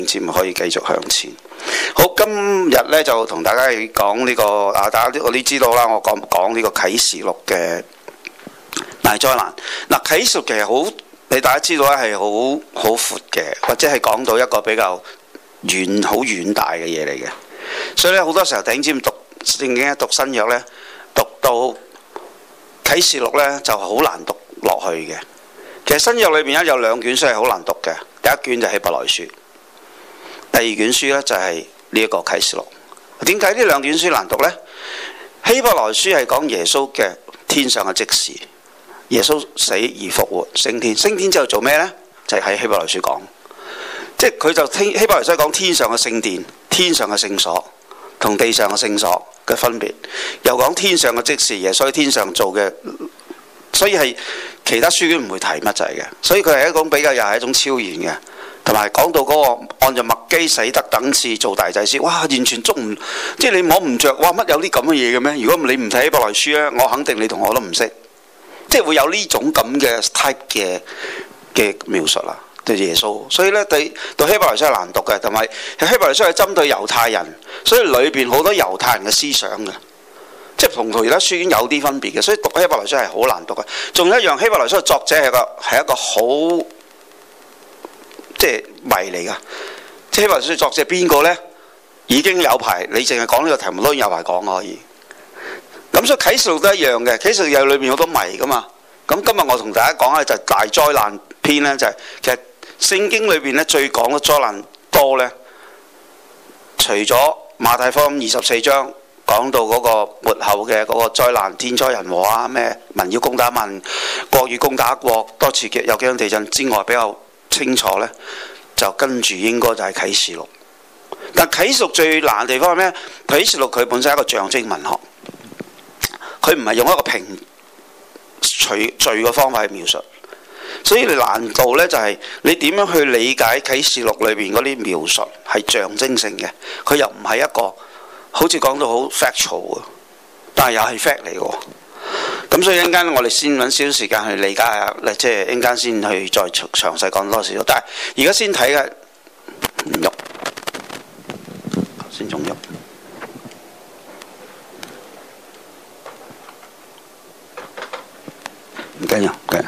節目可以繼續向前。好，今日咧就同大家講呢個啊，大家我都知道啦，我講呢個啟示錄嘅大災難。嗱，啟示錄其實好，你大家知道咧係好闊嘅，或者係講到一個比較好遠大嘅嘢嚟嘅。所以咧好多時候弟兄姊妹讀聖經讀新約咧，讀到啟示錄咧就好難讀落去嘅。其實新約裏邊咧有兩卷書係好難讀嘅，第一卷就係希伯來書，第二卷書咧就係呢一個啟示錄。點解呢兩卷書難讀呢？希伯來書係講耶穌嘅天上嘅職事，耶穌死而復活升天，升天之後做咩呢？就係喺希伯來書講，即係佢就希伯來書講天上嘅聖殿、天上嘅聖所同地上嘅聖所嘅分別，又講天上嘅職事，耶穌喺天上做嘅，所以係其他書卷唔會提乜滯嘅，所以佢係一種比較又係一種超然嘅。同埋講到嗰個按照麥基洗德等次做大祭司，哇！完全捉唔，即係你摸唔着，哇！乜有啲咁嘅嘢嘅咩？如果你唔睇希伯來書咧，我肯定你同我都唔識，即係會有呢種咁嘅 type 嘅描述啦，對耶穌。所以咧，對希伯來書係難讀嘅，同埋希伯來書係針對猶太人，所以裏邊好多猶太人嘅思想嘅，即係同其他書卷有啲分別嘅，所以讀希伯來書係好難讀嘅。仲有一樣，希伯來書嘅作者係一個好。即係謎嚟㗎，即係希伯來書作者邊個呢？已經有排，你淨係講呢個題目都有排講可以。咁所以啟示錄都一樣嘅，啟示錄有裏面好多謎㗎嘛。咁今日我同大家講咧就係大災難篇呢，就係其實聖經裏邊咧最講嘅災難多呢，除咗馬太福音24章講到嗰個末後嘅嗰個災難，天災人禍啊，咩民要攻打民，國與攻打國，多次有幾場地震之外，比較清楚呢，就跟住應該就係啟示錄。但啟示錄最難嘅地方係咩？啟示錄佢本身係一個象徵文學，佢唔係用一個平隨序嘅方法去描述，所以你難度呢，就係你點樣去理解啟示錄裏邊嗰啲描述係象徵性嘅，佢又唔係一個好似講到好 factual 嘅，但係又係 fact 嚟嘅。咁所以一陣間我哋先揾少少時間去理解下，即係一陣間先去再詳細講多少。但係而家先睇嘅唔喐，先仲喐，唔緊要，唔緊要，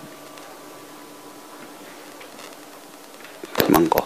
問過。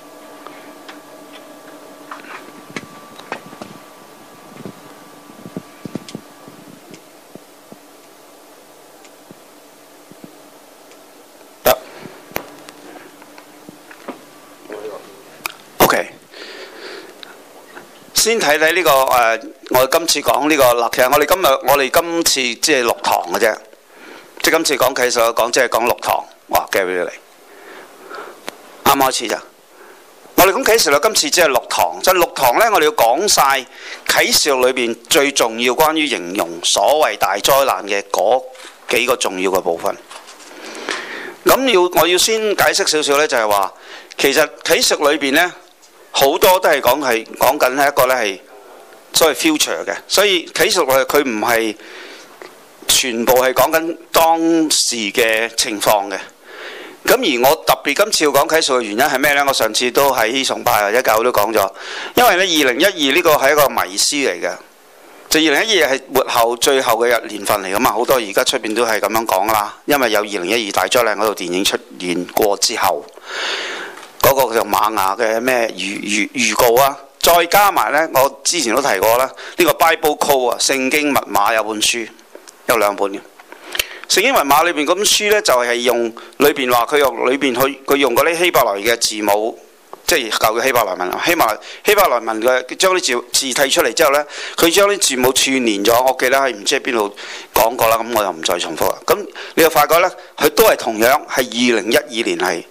先睇睇呢個我哋今次講呢個嗱，其實我哋今次即係6堂嘅啫，即係今次講啟示錄即係講6堂，哇，寄俾你嚟，啱開始咋？我哋講啟示錄今次只係6堂，就6堂呢，我哋要講晒啟示錄裏邊最重要關於形容所謂大災難嘅嗰幾個重要嘅部分。咁我要先解釋少少呢，就係話其實啟示錄裏邊呢。好多都係講緊係一個咧係所謂 future 嘅，所以啟示錄佢唔係全部係講緊當時嘅情況嘅。咁而我特別今次要講啟示錄嘅原因係咩呢？我上次都喺崇拜或者教會都講咗，因為呢2012呢個係一個迷思嚟嘅，就2012係末後最後嘅年份嚟㗎嘛，好多而家出邊都係咁樣講啦，因為有2012大災難嗰套電影出現過之後。嗰個叫瑪雅嘅咩預告啊，再加埋呢，我之前都提過啦，呢個 Bible Code 啊，聖經密碼有本書，有2本嘅。聖經密碼裏邊嗰本書呢，就係用裏邊話佢用裏邊佢用嗰啲希伯來嘅字母，即係舊嘅希伯來文，希伯來文嘅將啲字剔出嚟之後呢，佢將啲字母串連咗。我記得喺唔知喺邊度講過啦，咁我就唔再重複啦。咁你就發覺呢，佢都係同樣係2012年係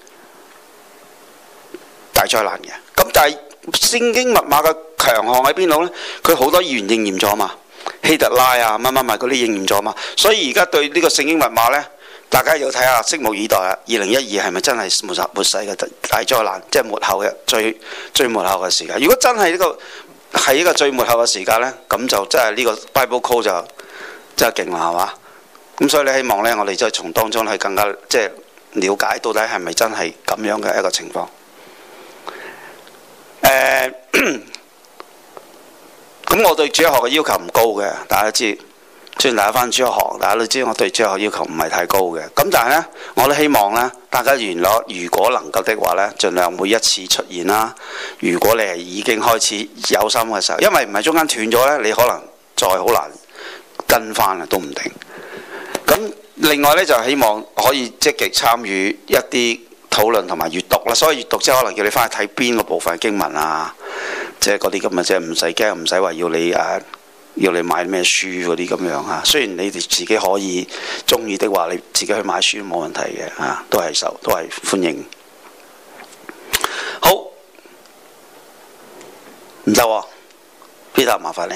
大災難嘅，咁但係聖經密碼嘅強項喺邊度呢？佢好多預言應驗咗嘛，希特拉啊乜嗰啲應驗咗嘛，所以而家對呢個聖經密碼呢，大家要睇下，拭目以待啊！2012係咪真係末世嘅大災難，即係末後嘅最末後嘅時間？如果真係呢個係一個最末後嘅時間呢，咁就真係呢個 Bible Code 就真係勁啦，係嘛？咁所以你希望呢，我哋就從當中去更加即係了解到底係咪真係咁樣嘅一個情況。 咁我對主日學嘅要求唔高嘅，大家都知。雖然大家返主日學，大家都知我對主日學要求唔係太高嘅。咁但係呢，我都希望呢，大家如果能夠的話呢，盡量每一次出現啦。如果你係已經開始有心嘅時候，因為唔係中間斷咗呢，你可能再好難跟翻啊，都唔定。咁另外呢，就希望可以積極參與一啲討論同埋閱讀啦。所以閱讀即係可能叫你翻去睇邊個部分經文啊，即係嗰啲咁嘅，即係唔使驚，唔使話要你買咩書嗰啲咁樣嚇。雖然你哋自己可以中意的話，你自己去買書冇問題嘅嚇，都係歡迎。好，唔得喎，Peter 麻煩你。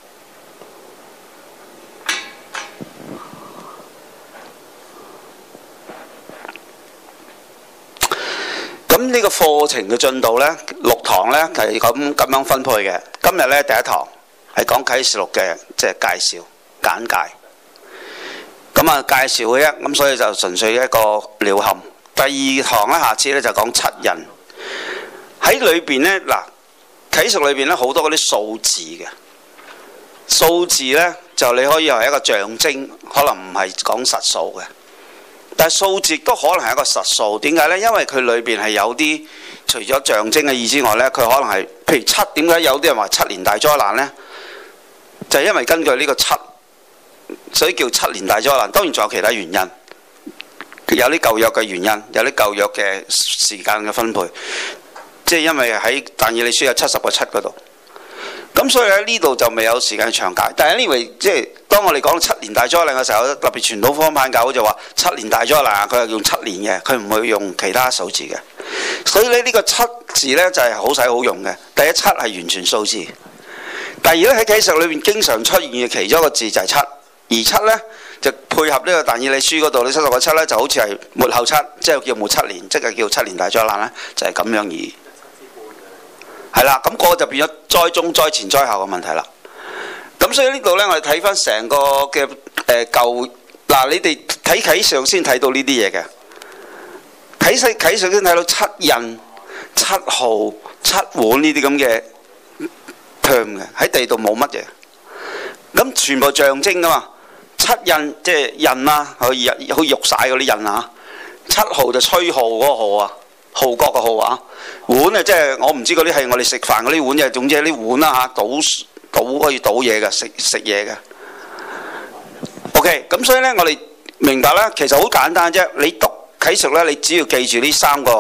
咁呢個課程嘅進度呢，6堂呢係咁樣分配嘅。今日呢，第一堂係講啟示錄嘅，即係介紹簡介。咁啊介紹嘅啫，咁所以就純粹一個鳥瞰。第二堂呢，下次呢就講七印。喺裏邊呢，嗱啟示錄裏邊呢好多嗰啲數字嘅數字呢，就你可以係一個象徵，可能唔係講實數嘅。但係數字都可能係一個實數，點解呢？因為佢裏邊係有啲除咗象徵嘅意之外呢，佢可能係譬如七，點解有啲人話7年大災難呢？就係因為根據呢個7，所以叫7年大災難。當然仲有其他原因，有啲舊約嘅原因，有啲舊約嘅時間嘅分配，即係因為喺但以理書有70個7嗰度。咁所以喺呢度就未有時間詳解，但係anyway，即係當我哋講7年大災難嘅時候，特別傳統方派教會就話7年大災難，佢係用7年嘅，佢唔會用其他數字嘅。所以咧呢個7字呢，就係好使好用嘅。第一7係完全數字，第二呢，喺啟示裏面經常出現嘅其中一個字就係7，而7呢，就配合呢個但以理書嗰度呢70個7呢，就好似係末後7，即係叫末7年，即係叫7年大災難呢，就係咁樣而。係啦，咁個就變咗災中、災前、災後嘅問題啦。咁所以呢度呢，我哋睇翻成個嘅舊嗱，你哋睇啟示錄先睇到呢啲嘢嘅。啟示錄先睇到7印、7號、7碗呢啲咁嘅 term 嘅，喺地度冇乜嘢。咁全部象徵噶嘛。7印即係印啦，好似玉璽嗰啲印啊。7號就吹號嗰個號啊。號角嘅號啊，碗啊，即係我唔知嗰啲係我哋食飯嗰啲碗嘅，總之係啲碗啦嚇，倒可以倒嘢嘅，食嘢嘅。OK，咁所以呢，我哋明白啦，其實好簡單啫。你讀啟示呢，你只要記住呢3個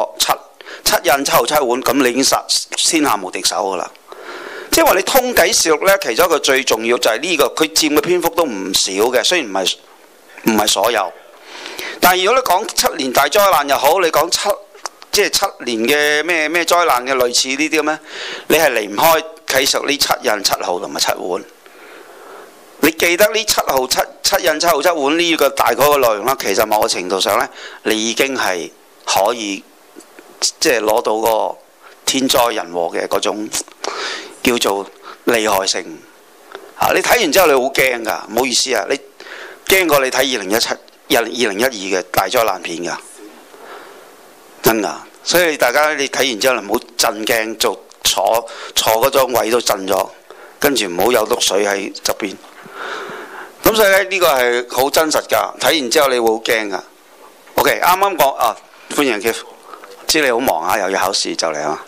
7印、7號、7碗，咁你已經天下無敵手噶啦。即係話你通啟示錄呢，其中一個最重要就係呢個，佢佔嘅篇幅都唔少嘅，雖然唔係所有。但係如果你講7年大災難又好，你講即係7年嘅咩災難嘅類似呢啲咁咧，你係離唔開啟示呢7印、7號同埋7碗。你記得呢7號7印、7號、7碗呢個大概嘅內容啦，其實某個程度上呢，你已經係可以即係攞到個天災人禍嘅嗰種叫做厲害性。你睇完之後你好驚㗎，唔好意思啊，你驚過你睇2012嘅大災難片㗎。真㗎，所以大家你睇完之後唔好震驚，坐嗰張位都震咗，跟住唔好有篤水喺側邊。咁所以呢個係好真實㗎，睇完之後你會好驚㗎。OK， 啱啱講啊，歡迎 Keith， 知你好忙啊，又要考試就嚟啊。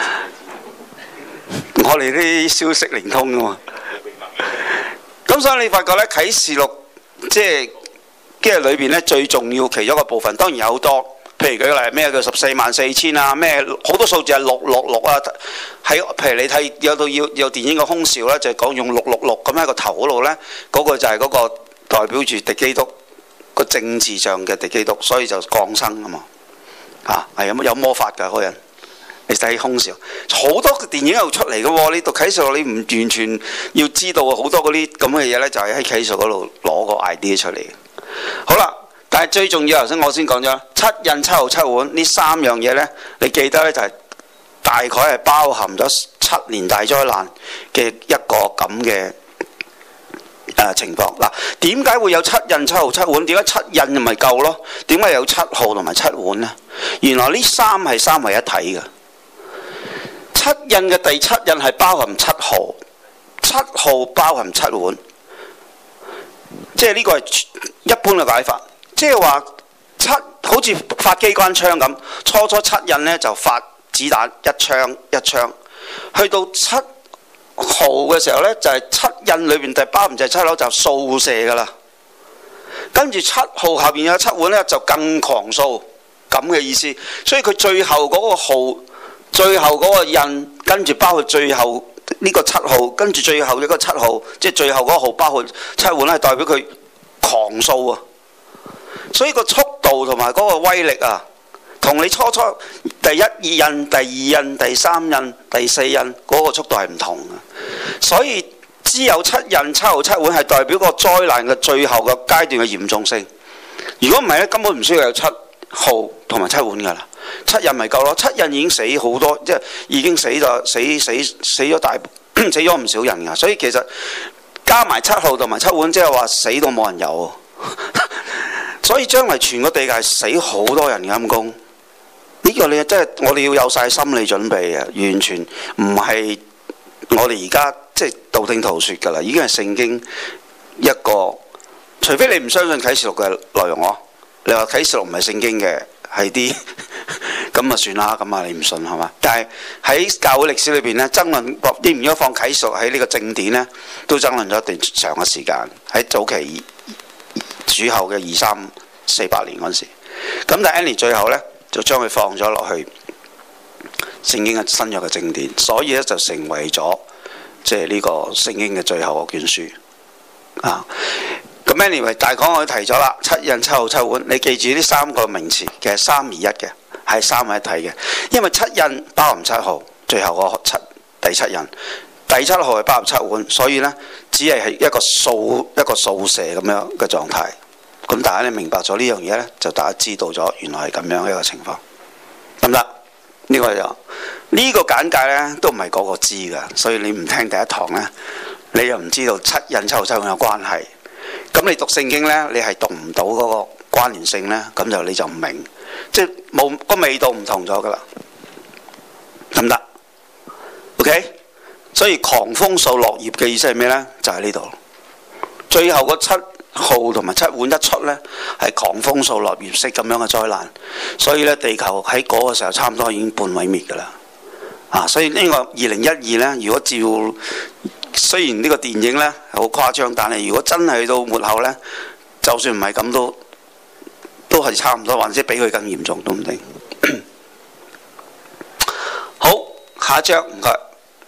我哋啲消息靈通㗎嘛。咁所以你發覺呢，啟示錄即係裏邊呢最重要其中一個部分，當然有好多。譬如舉例咩叫144000啊，咩好多數字係666啊，喺譬如你睇有電影嘅空少咧，就係講用666咁喺個頭嗰度咧，嗰個就係嗰個代表住敵基督個政治上嘅敵基督，所以就降生啊嘛，係有魔法㗎嗰人。你睇空少好多電影又出嚟嘅喎，你讀啟示錄你唔完全要知道好多嗰啲咁嘅嘢咧，就係喺啟示嗰度攞個 idea 出嚟。好啦。但係最重要，頭先我先講咗7印、7號、7碗呢3樣嘢呢，你記得呢，就係大概係包含咗7年大災難嘅一個咁嘅情況。嗱，點解會有7印、7號、7碗？點解7印咪夠咯？點解有7號同埋7碗呢？原來呢3係3為一體嘅。 七印嘅第七印係包含七號，七號包含七碗，即係呢個係一般嘅解法，即係話七好似發機關槍咁，初七印呢就發子彈一槍一槍，去到七號嘅時候呢，就係、是、七印裏邊第包含就係七樓就掃射㗎啦，跟住七號下邊有七碗呢，就更狂掃咁嘅意思，所以佢最後嗰個號，最後嗰個印，跟住包括最後呢個七號，跟住最後一個七號，即係最後嗰個號包括七碗係代表佢狂掃啊，所以個速度同埋嗰個威力啊，同你初第一二印、第二印、第三印、第四印嗰個速度係唔同嘅，所以只有七印、七號、七碗係代表個災難嘅最後嘅階段嘅嚴重性。如果唔係咧，根本唔需要有七號同埋七碗㗎啦，七印咪夠咯。七印已經死好多，即係已經死咗死咗死咗唔少人㗎，所以其實加埋七號同埋七碗，即係話死到冇人有。所以將來全個地界死好多人嘅陰公，呢個你真係我哋要有晒心理準備啊！完全唔係我哋而家即係道聽途說㗎啦，已經係聖經一個，除非你唔相信啟示錄嘅內容咯。你話啟示錄唔係聖經嘅，係啲咁啊算啦，咁啊你唔信係嘛？但係喺教會歷史裏邊呢，爭論應唔應該放啟示錄喺呢個正典呢，都爭論咗一段長嘅時間。喺早期主後嘅2348年嗰陣時，咁但係 Annie 最後呢，就將佢放咗落去聖經嘅新約嘅正典，所以呢，就成為咗即係呢個聖經嘅最後嘅卷書啊。咁 anyway 大綱我都提咗啦，七印、七號、七碗，你記住呢三個名詞，其實三而一嘅，係三位一體嘅。因為七印包含七號，最後個第七印，第七號係包含七碗，所以呢，只係一個掃射咁樣嘅狀態。咁大家你明白咗呢樣嘢呢，就大家知道咗原來係咁樣一個情況，得唔得？呢個就呢個簡介呢，都唔係個個知㗎，所以你唔聽第一堂呢，你又唔知道七印、七號、七碗有關係。咁你讀聖經呢，你係讀唔到嗰個關聯性呢，咁就你就唔明，即係冇個味道唔同咗噶啦，得唔得 ？OK， 所以狂風掃落葉嘅意思係咩呢？就喺呢度，最後個七號同埋七碗一出呢，係狂風掃落葉式咁樣嘅災難，所以呢，地球喺嗰個時候差唔多已經半毀滅噶啦，啊！所以呢個2012呢，如果照雖然呢個電影呢好誇張，但係如果真係去到末後呢，就算唔係咁都係差唔多，或者比佢更嚴重都唔定。好，下一章唔該。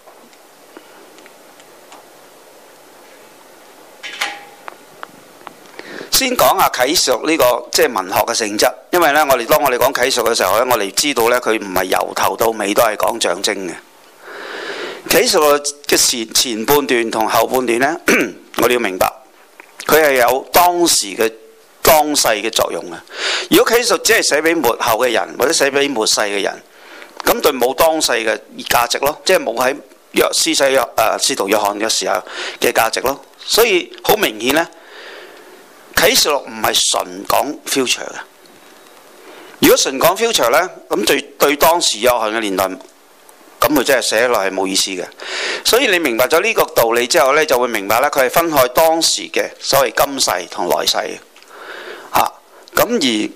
先講下啟示錄呢個即係文學嘅性質，因為呢，當我哋講啟示錄嘅時候呢，我哋知道呢，佢唔係由頭到尾都係講象徵嘅。啟示錄嘅前半段同後半段呢，我哋要明白，佢係有當世嘅作用嘅。如果啟示錄只係寫俾末後嘅人，或者寫俾末世嘅人，咁對冇當世嘅價值咯，即係冇喺使徒約翰嘅時候嘅價值咯。所以好明顯呢，啟示錄唔係純講 future 嘅。如果純講 future 呢，咁對當時約翰嘅年代，咁佢真係寫落係冇意思嘅。所以你明白咗呢個道理之後呢，就會明白咧，佢係分開當時嘅所謂今世同來世嘅嚇。咁而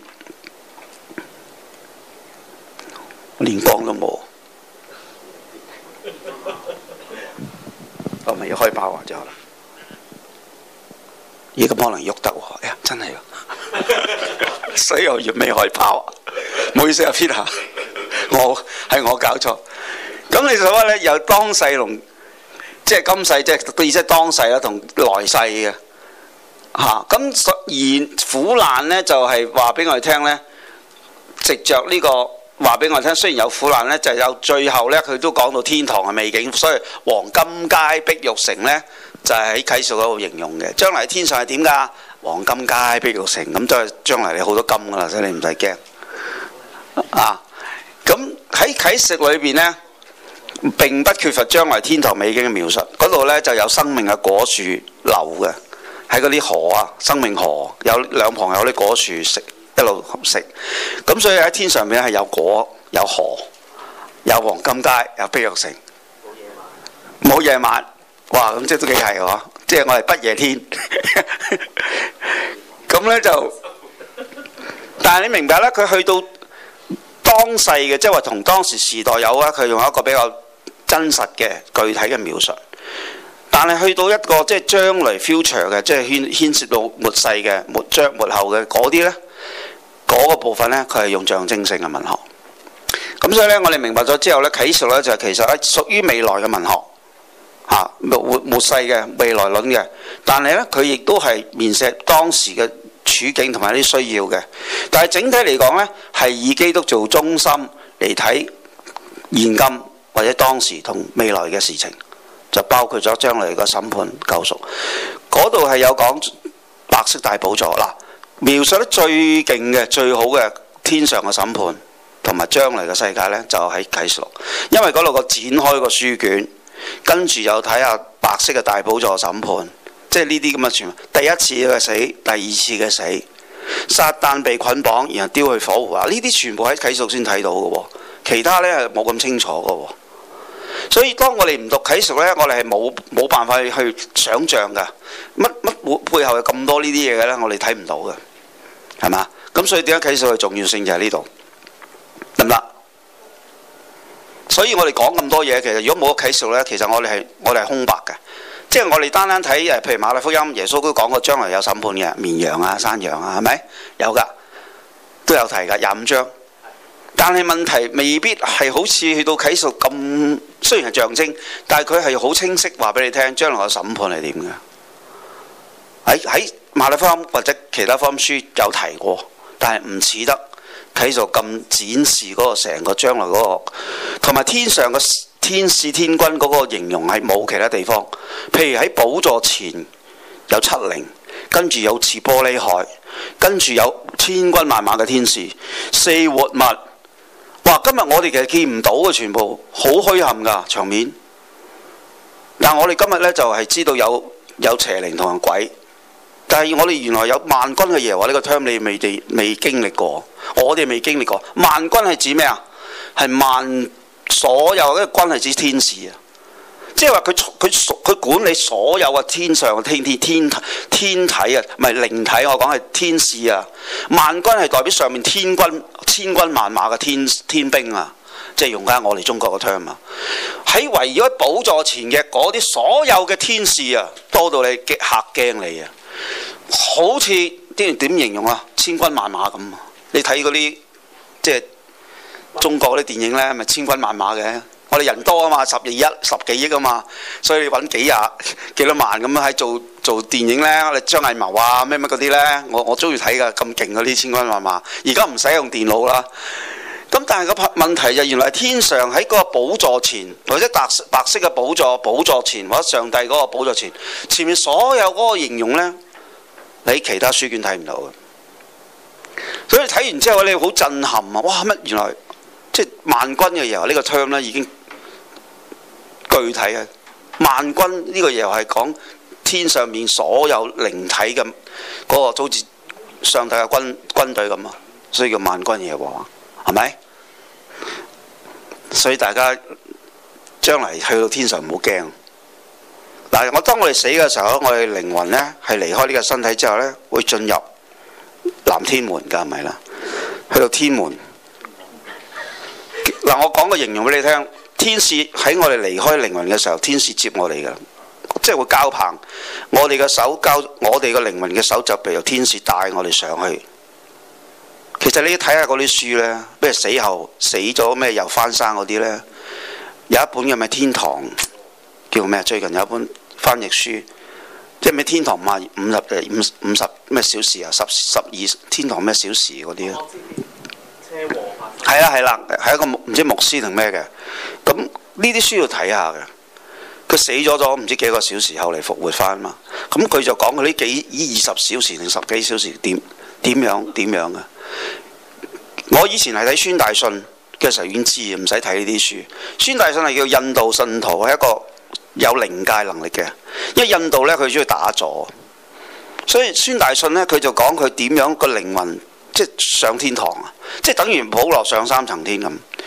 連光都冇，我咪要開爆就咦咁可能喐得喎？呀，真係喎！所以我要未開爆，唔好意思啊 Peter， 我搞錯。咁你所謂咧，有當世同即係今世，即係意思係當世啦，同來世嘅嚇。咁而苦難呢，就係話俾我哋聽呢，藉着呢個話俾我哋聽，雖然有苦難呢，就有最後呢，佢都講到天堂嘅美景。所以黃金街碧玉城呢，就係喺啟示嗰度形容嘅。將來天上係點㗎？黃金街碧玉城，咁都係將來你好多金㗎啦，所以你唔使驚啊。咁喺啟示裏邊呢，並不缺乏將來天堂美景嘅描述，嗰度呢就有生命嘅果樹流嘅，喺嗰啲河啊，生命河有兩旁有啲果樹食，一路食，咁所以喺天上面係有果有河有黃金街，有碧玉城，冇夜晚。哇！咁即係都幾係喎，即係我係不夜天。咁呢就，但係你明白咧，佢去到當世嘅，即係話同當時時代有啊，佢用一個比較真實嘅具體嘅描述。但係去到一個即係將來 future 嘅，即係牽涉到末世嘅末後嘅嗰啲呢，嗰個部分呢，佢係用象徵性嘅文學。咁所以呢，我哋明白咗之後呢，啟示呢就其實係屬於未來嘅文學嚇，末世嘅未來論嘅。但係呢，佢亦都係面寫當時嘅處境同埋啲需要嘅。但係整體嚟講呢，係以基督做中心嚟睇現今或者當時同未來嘅事情。就包括咗將來個審判救贖，嗰度係有講白色大寶座嗱，描述得最勁嘅、最好嘅天上嘅審判同埋將來嘅世界呢，就喺啟示錄，因為嗰度個展開個書卷，跟住又睇下白色嘅大寶座審判，即係呢啲咁嘅全部，第一次嘅死，第二次嘅死，撒旦被捆綁，然後丟去火湖啊！呢啲全部喺啟示錄先睇到嘅喎，其他呢係冇咁清楚嘅喎。所以當我哋唔讀啟示呢，我哋係冇辦法去想像㗎，乜背後有咁多呢啲嘢嘅呢？我哋睇唔到嘅，係嘛？咁所以點解啟示錄嘅重要性就喺呢度，得唔得？所以我哋講咁多嘢，其實如果冇啟示錄呢，其實我哋係空白嘅，即係我哋單單睇譬如馬太福音，耶穌都講過將來有審判嘅，綿羊啊、山羊啊，係咪有㗎？都有提㗎，25章。但係問題未必係好似去到啟示咁，雖然係象徵，但係佢係好清晰話俾你聽，將來嘅審判係點嘅。喺馬太福音或者其他福音書有提過，但係唔似得啟示咁展示嗰個成個將來嗰個，同埋天上嘅天使天軍嗰個形容係冇其他地方。譬如喺寶座前有七靈，跟住有似玻璃海，跟住有千軍萬馬嘅天使，四活物。哇！今日我哋其實見唔到嘅，全部好虛冚㗎場面。但我哋今日呢，就係知道有邪靈同埋鬼，但係我哋原來有萬軍嘅耶和華呢個 term 你未經歷過，我哋未經歷過。萬軍係指咩啊？係所有嘅軍係指天使啊！即係話佢管理所有嘅天上嘅天體啊，唔係靈體，我講係天使啊。萬軍係代表上面天軍千軍萬馬嘅天兵啊，即係用緊我哋中國嘅 term 啊。喺圍繞喺寶座前嘅嗰啲所有嘅天使啊，多到你嚇驚你啊！好似啲人點形容啊？千軍萬馬咁。你睇嗰啲即係中國嗰啲電影呢，咪千軍萬馬嘅。我哋人多啊嘛，十幾億啊嘛，所以揾幾多萬咁樣喺做電影呢。我哋張藝謀啊咩嗰啲呢，我中意睇㗎，咁勁嗰啲千軍萬馬。而家唔使用電腦啦。咁但係個問題就原來係天上喺嗰個寶座前，或者白色嘅寶座前，或者上帝嗰個寶座前，前面所有嗰個形容呢，你其他書卷睇唔到嘅。所以睇完之後你好震撼啊！哇，乜原來即係萬軍嘅耶和華呢個 term 呢已經具體嘅。萬軍呢個耶和華係講天上面所有靈體嘅嗰個，好似上帝嘅軍隊咁啊，所以叫萬軍耶和華，係咪？所以大家將來去到天上唔好驚。嗱，當我哋死嘅時候，我哋靈魂呢係離開呢個身體之後呢，會進入南天門㗎，係咪啦？去到天門。嗱，我講個形容俾你聽，天使喺我哋離開靈魂嘅時候，天使接我哋嘅，即係會交棒，我哋嘅手交，我哋嘅靈魂嘅手就被由天使帶我哋上去。其實你睇下嗰啲書呢，譬如死後死咗咩又翻生嗰啲呢，有一本嘅咩天堂叫咩？最近有一本翻譯書，即係咩天堂50咩小時啊，12天堂咩小時嗰啲啊。係啦，係一個唔知牧師定咩嘅，咁呢啲書要睇下嘅。佢死咗唔知幾個小時後嚟復活翻嘛，咁佢就講佢呢20小時定10幾小時點樣嘅。我以前係睇孫大信嘅時候已經知，唔使睇呢啲書。孫大信係叫印度信徒，係一個有靈界能力嘅，因為印度呢，佢中意打坐，所以孫大信呢，佢就講佢點樣個靈魂即係上天堂啊，即係等於保羅上3層天咁。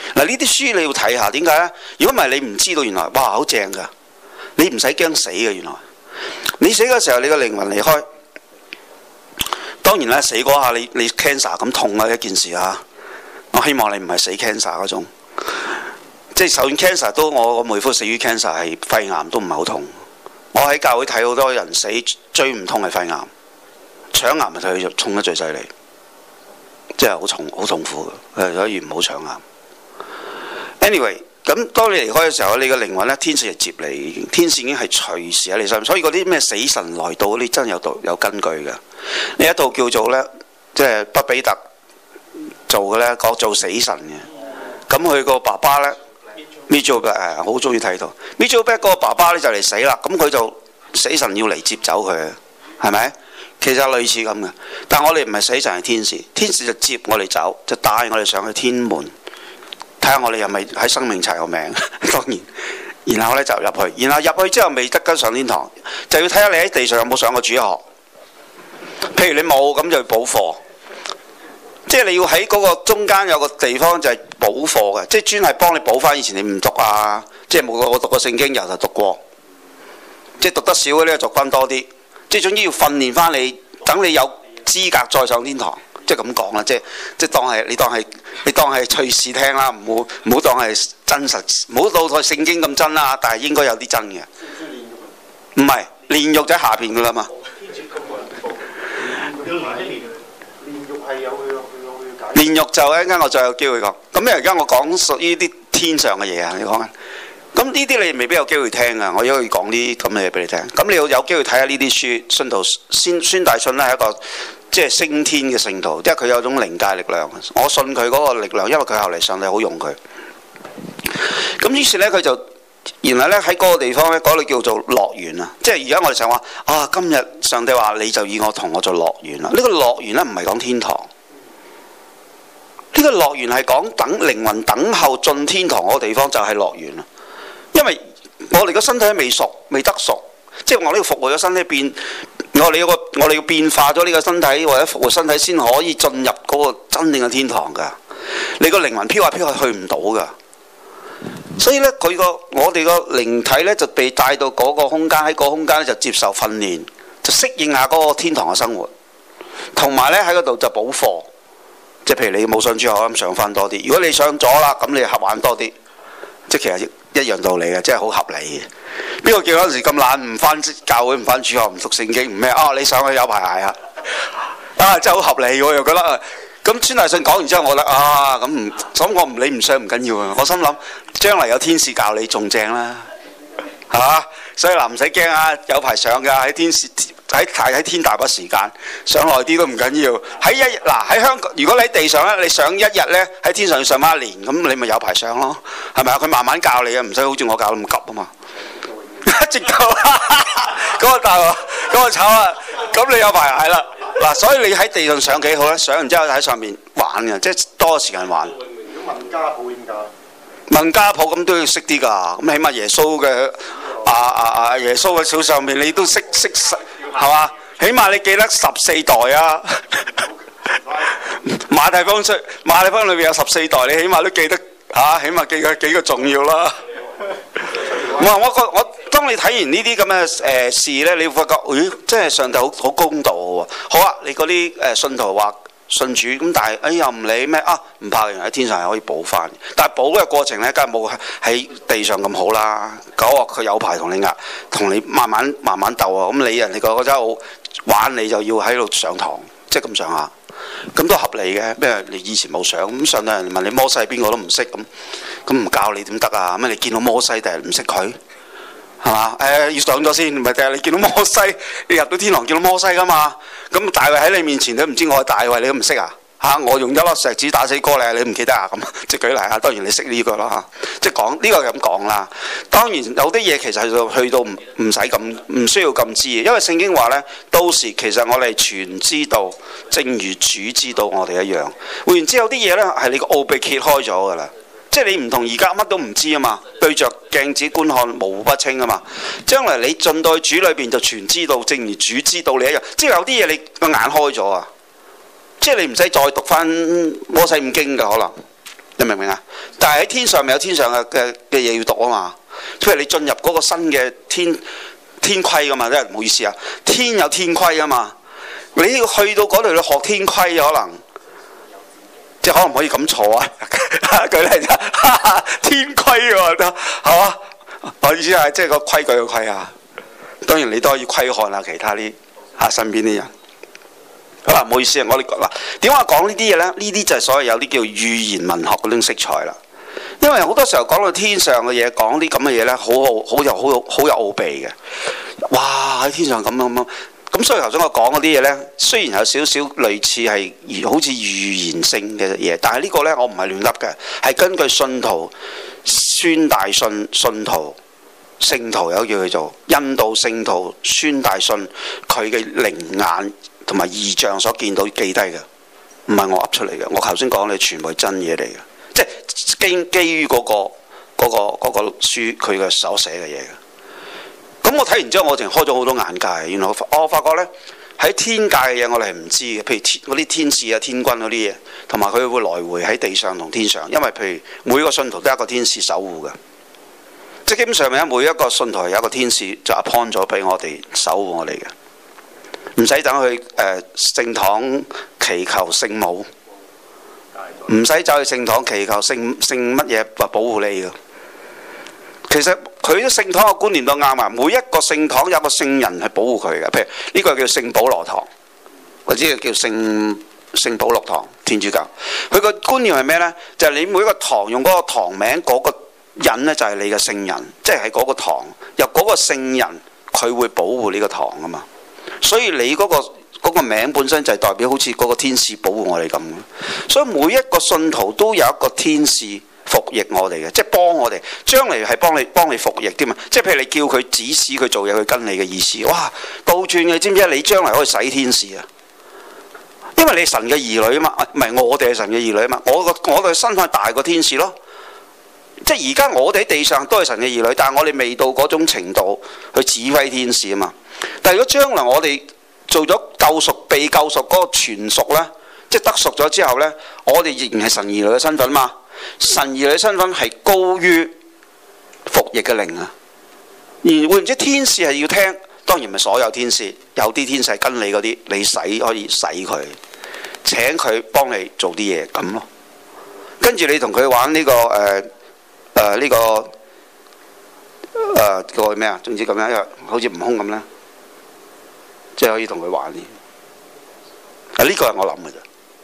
嗱，呢啲書你要睇下，點解呢？如果唔係你唔知道原來哇好正㗎，你唔使驚死嘅原來。你死嘅時候，你個靈魂離開。當然啦，死嗰下你 cancer 咁痛啊一件事啊！我希望你唔係死 cancer 嗰種，即係就算 cancer 都我妹夫死於 cancer 係肺癌都唔係好痛。我喺教會睇好多人死最唔痛係肺癌，腸癌咪佢痛得最犀利，即係好痛苦嘅，所以唔好腸癌。Anyway。咁當你離開嘅時候，你嘅靈魂呢，天使係接你，天使已經係隨時喺你身邊，所以嗰啲咩死神來到，你真係有根據嘅。呢一套叫做呢，即係畢比特做嘅呢，講做死神嘅。咁佢個爸爸呢 Mitchell 好中意睇到 Mitchell 嗰個爸爸呢就嚟死啦，咁佢就死神要嚟接走佢，係咪？其實類似咁嘅，但我哋唔係死神係天使，天使就接我哋走，就帶我哋上去天門。睇下我哋係咪喺生命查個名，當然，然後呢就入去，然後入去之後未得跟上天堂，就要睇下你喺地上有冇上過主學。譬如你冇，咁就要補課，即係你要喺嗰個中間有個地方就係補課嘅，即係專係幫你補翻以前你唔讀啊，即係冇我讀過聖經由頭讀過，即係讀得少嗰啲讀翻多啲，即係總之要訓練翻你，等你有資格再上天堂。即係咁講啦，即係你當係趣事聽啦，唔好當係真實，唔好當係聖經咁真啦，但係應該有啲真嘅。唔係煉獄就喺下邊噶啦嘛。煉獄就一陣間我再有機會講。咁因為而家我講屬於啲天上嘅嘢啊，你講啊。咁呢啲你未必有機會聽啊，我而家要講啲咁嘅嘢俾你聽。咁你要有機會睇下呢啲書，信徒孫大信咧係一個。即係升天嘅聖徒，因為佢有種靈界力量。我信佢嗰個力量，因為佢後嚟上帝好用佢。咁於是呢，佢就原來呢喺嗰個地方呢，嗰度叫做樂園啊。即係而家我哋成日話啊，今日上帝話你就以我同我做樂園啦。呢個樂園呢唔係講天堂，呢個樂園係講等靈魂等候進天堂嗰個地方就係樂園啦。因為我哋個身體未熟，未得熟，即係我呢個復活咗身體變。我哋要變化咗呢個身體或者復活身體先可以進入嗰個真正嘅天堂㗎。你個靈魂飄下飄下去唔到㗎。所以呢，我哋個靈體呢就被帶到嗰個空間，喺個空間呢就接受訓練，就適應下嗰個天堂嘅生活。同埋呢，喺嗰度就補課，即係譬如你冇上主學咁上翻多啲。如果你上咗啦，咁你合玩多啲，即係其實一樣道理嘅，即係好合理嘅。邊個叫嗰陣時咁懶，唔翻教會，唔翻主學，唔讀聖經，唔咩啊？你上去有排捱啊！啊，真係好合理喎，又覺得咁孫大信講完之後，我覺得啊，咁我唔理唔上唔緊要啊！我心諗將來有天使教你仲正啦，係嘛？所以嗱唔使驚啊，有排上㗎，喺天大把時間，上耐啲都唔緊要。喺香港，如果你喺地上咧，你上一日咧，喺天上要上翻1年，咁你咪有排上咯，係咪啊？佢慢慢教你啊，唔使好似我教咁急啊嘛。直夠嗰個大鑊，嗰個炒啊！咁你有排捱啦嗱，所以你喺地上上幾好咧？上完之後喺上面玩嘅，即係多時間玩。如果問家譜點解？問家譜咁都要識啲㗎，咁起碼耶穌嘅耶穌嘅手上面你都識係嘛？起碼你記得14代啊！馬太福音裏邊有14代，你起碼都記得嚇，起碼記得幾個重要啦。我當你睇完呢啲咁嘅事呢，你會發覺，咦，真係上帝好公道喎。好啊，你嗰啲信徒話信主咁，但係又唔理咩啊？唔怕，原來喺天上係可以補翻。但係補嘅過程呢，梗係冇喺地上咁好啦。佢有排同你慢慢鬥啊。咁你人哋覺得好玩，你就要喺度上堂，即係咁上下。咁都合理嘅，咩？你以前冇上咁上到人問你摩西邊個都唔識咁唔教你點得啊？咩？你見到摩西定係唔識佢係嘛？要上咗先，唔係定係你見到摩西，你入到天堂見到摩西噶嘛？咁大衛喺你面前都唔知我係大衛，你都唔識啊？我用一粒石子打死哥你唔記得啊？咁即係舉例啊！當然你識呢個啦，即係講呢個咁講啦。當然有啲嘢其實去到唔使咁，唔需要咁知，因為聖經話呢，到時其實我哋全知道，正如主知道我哋一樣。換言之，有啲嘢呢係你個奧秘揭開咗㗎啦，即係你唔同而家乜都唔知啊嘛，對着鏡子觀看模糊不清啊嘛。將來你進到主裏邊就全知道，正如主知道你一樣。即係有啲嘢你個眼開咗啊！即係你唔使再讀翻摩西五經㗎，可能你明唔明啊？但係喺天上咪有天上嘅嘢要讀啊嘛。譬如你進入嗰個新嘅天規噶嘛，即係唔好意思啊，天有天規啊嘛。你要去到嗰度去學天規，可能即係可能唔可以咁坐啊？舉例就天規喎，得係嘛？我意思係即係個規矩嘅規啊。當然你都可以規看下其他啲身邊啲人。好啦，唔好意思啊，我哋嗱點解講呢啲嘢咧？呢啲就係所謂有啲叫語言文學嗰種色彩啦。因為好多時候講到天上嘅嘢，講啲咁嘅嘢咧，好有奧秘嘅。哇！喺天上咁樣咁，所以頭先我講嗰啲嘢咧，雖然有少少類似係好似預言性嘅嘢，但係呢個咧我唔係亂噏嘅，係根據信徒孫大信徒聖徒有叫佢做印度聖徒孫大信佢嘅靈眼同埋異象所見到記低嘅，唔係我噏出嚟嘅。我頭先講嘅全部係真嘢嚟嘅，即係基於嗰個書佢嘅所寫嘅嘢嘅。咁我睇完之後，我淨係開咗好多眼界。原來我發覺呢，喺天界嘅嘢我哋係唔知嘅，譬如嗰啲天使啊、天軍嗰啲嘢，同埋佢會來回喺地上同天上。因為譬如每個信徒都有一個天使守護嘅，即係基本上每一個信徒有一個天使就 appoint 咗俾我哋守護我哋嘅，唔使等去聖堂祈求聖母，唔使走去聖堂祈求聖乜嘢保護你嘅。其實佢啲聖堂嘅觀念都啱啊！每一個聖堂有個聖人係保護佢嘅，譬如呢個叫聖保羅堂，或者叫聖保祿堂，天主教。佢個觀念係咩呢？就係你每一個堂用嗰個堂名嗰個人呢，就係你嘅聖人，即係喺嗰個堂由嗰個聖人佢會保護呢個堂啊嘛。所以你嗰個名本身就係代表好似嗰個天使保護我哋咁。所以每一個信徒都有一個天使服役我哋嘅，即係幫我哋，將嚟係幫你服役添嘛。即係譬如你叫佢指使佢做嘢，佢跟你嘅意思。哇，倒轉嘅，知唔知？你將嚟可以使天使啊！因為你係神嘅兒女啊嘛，唔係我哋係神嘅兒女啊嘛。我哋身份大過天使咯。即係而家我哋喺地上都係神嘅兒女，但係我哋未到嗰種程度去指揮天使啊嘛。但係如果將來我哋做咗救贖、被救贖嗰個全贖呢，即係得贖咗之後呢，我哋仍然係神兒女嘅身份嘛。神兒女身份係高於服役嘅靈啊！而會唔知天使係要聽？當然唔係所有天使，有啲天使係跟你嗰啲，你可以使佢，請佢幫你做啲嘢咁咯。跟住你同佢玩呢個個咩啊？總之咁樣，因為好似悟空咁啦，即係可以同佢玩啲。呢個係我諗嘅啫。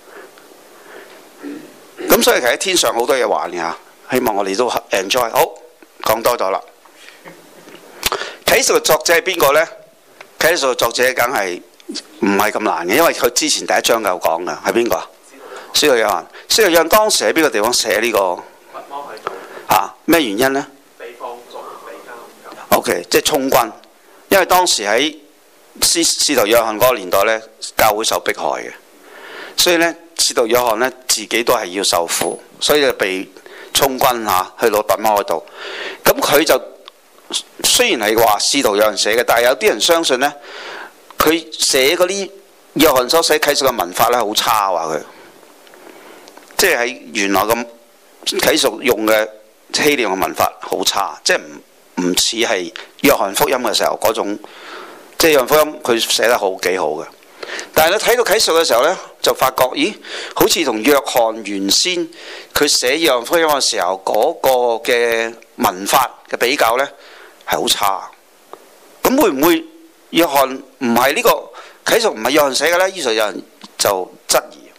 咁所以其實喺天上好多嘢玩嘅嚇，希望我哋都 enjoy。好，講多咗啦。啟示錄作者係邊個呢？啟示錄作者梗係唔係咁難嘅，因為佢之前第一章就講嘅係邊個啊？使徒約翰。使徒約翰當時喺邊個地方寫呢個？咩原因呢？被放逐被監。OK， 即係充軍，因為當時喺使徒約翰嗰個年代呢，教會受迫害嘅，所以呢。使徒約翰呢，自己都係要受苦，所以就被充軍去到拔摩嗰度。咁佢就雖然係話使徒約翰寫嘅，但係有啲人相信呢，佢寫嗰啲約翰所寫啟示嘅文法呢，好差，話佢即係喺原來咁啟示用嘅希臘嘅文法好差，即係唔似係約翰福音嘅時候嗰種，即係約翰福音佢寫得幾好嘅。但係你睇到啟示嘅時候呢，就發覺咦，好似同約翰原先佢寫約翰福音嘅時候嗰個嘅文法嘅比較呢，係好差。咁會唔會約翰唔係呢個啟示唔係約翰寫嘅呢？於是有人就質疑。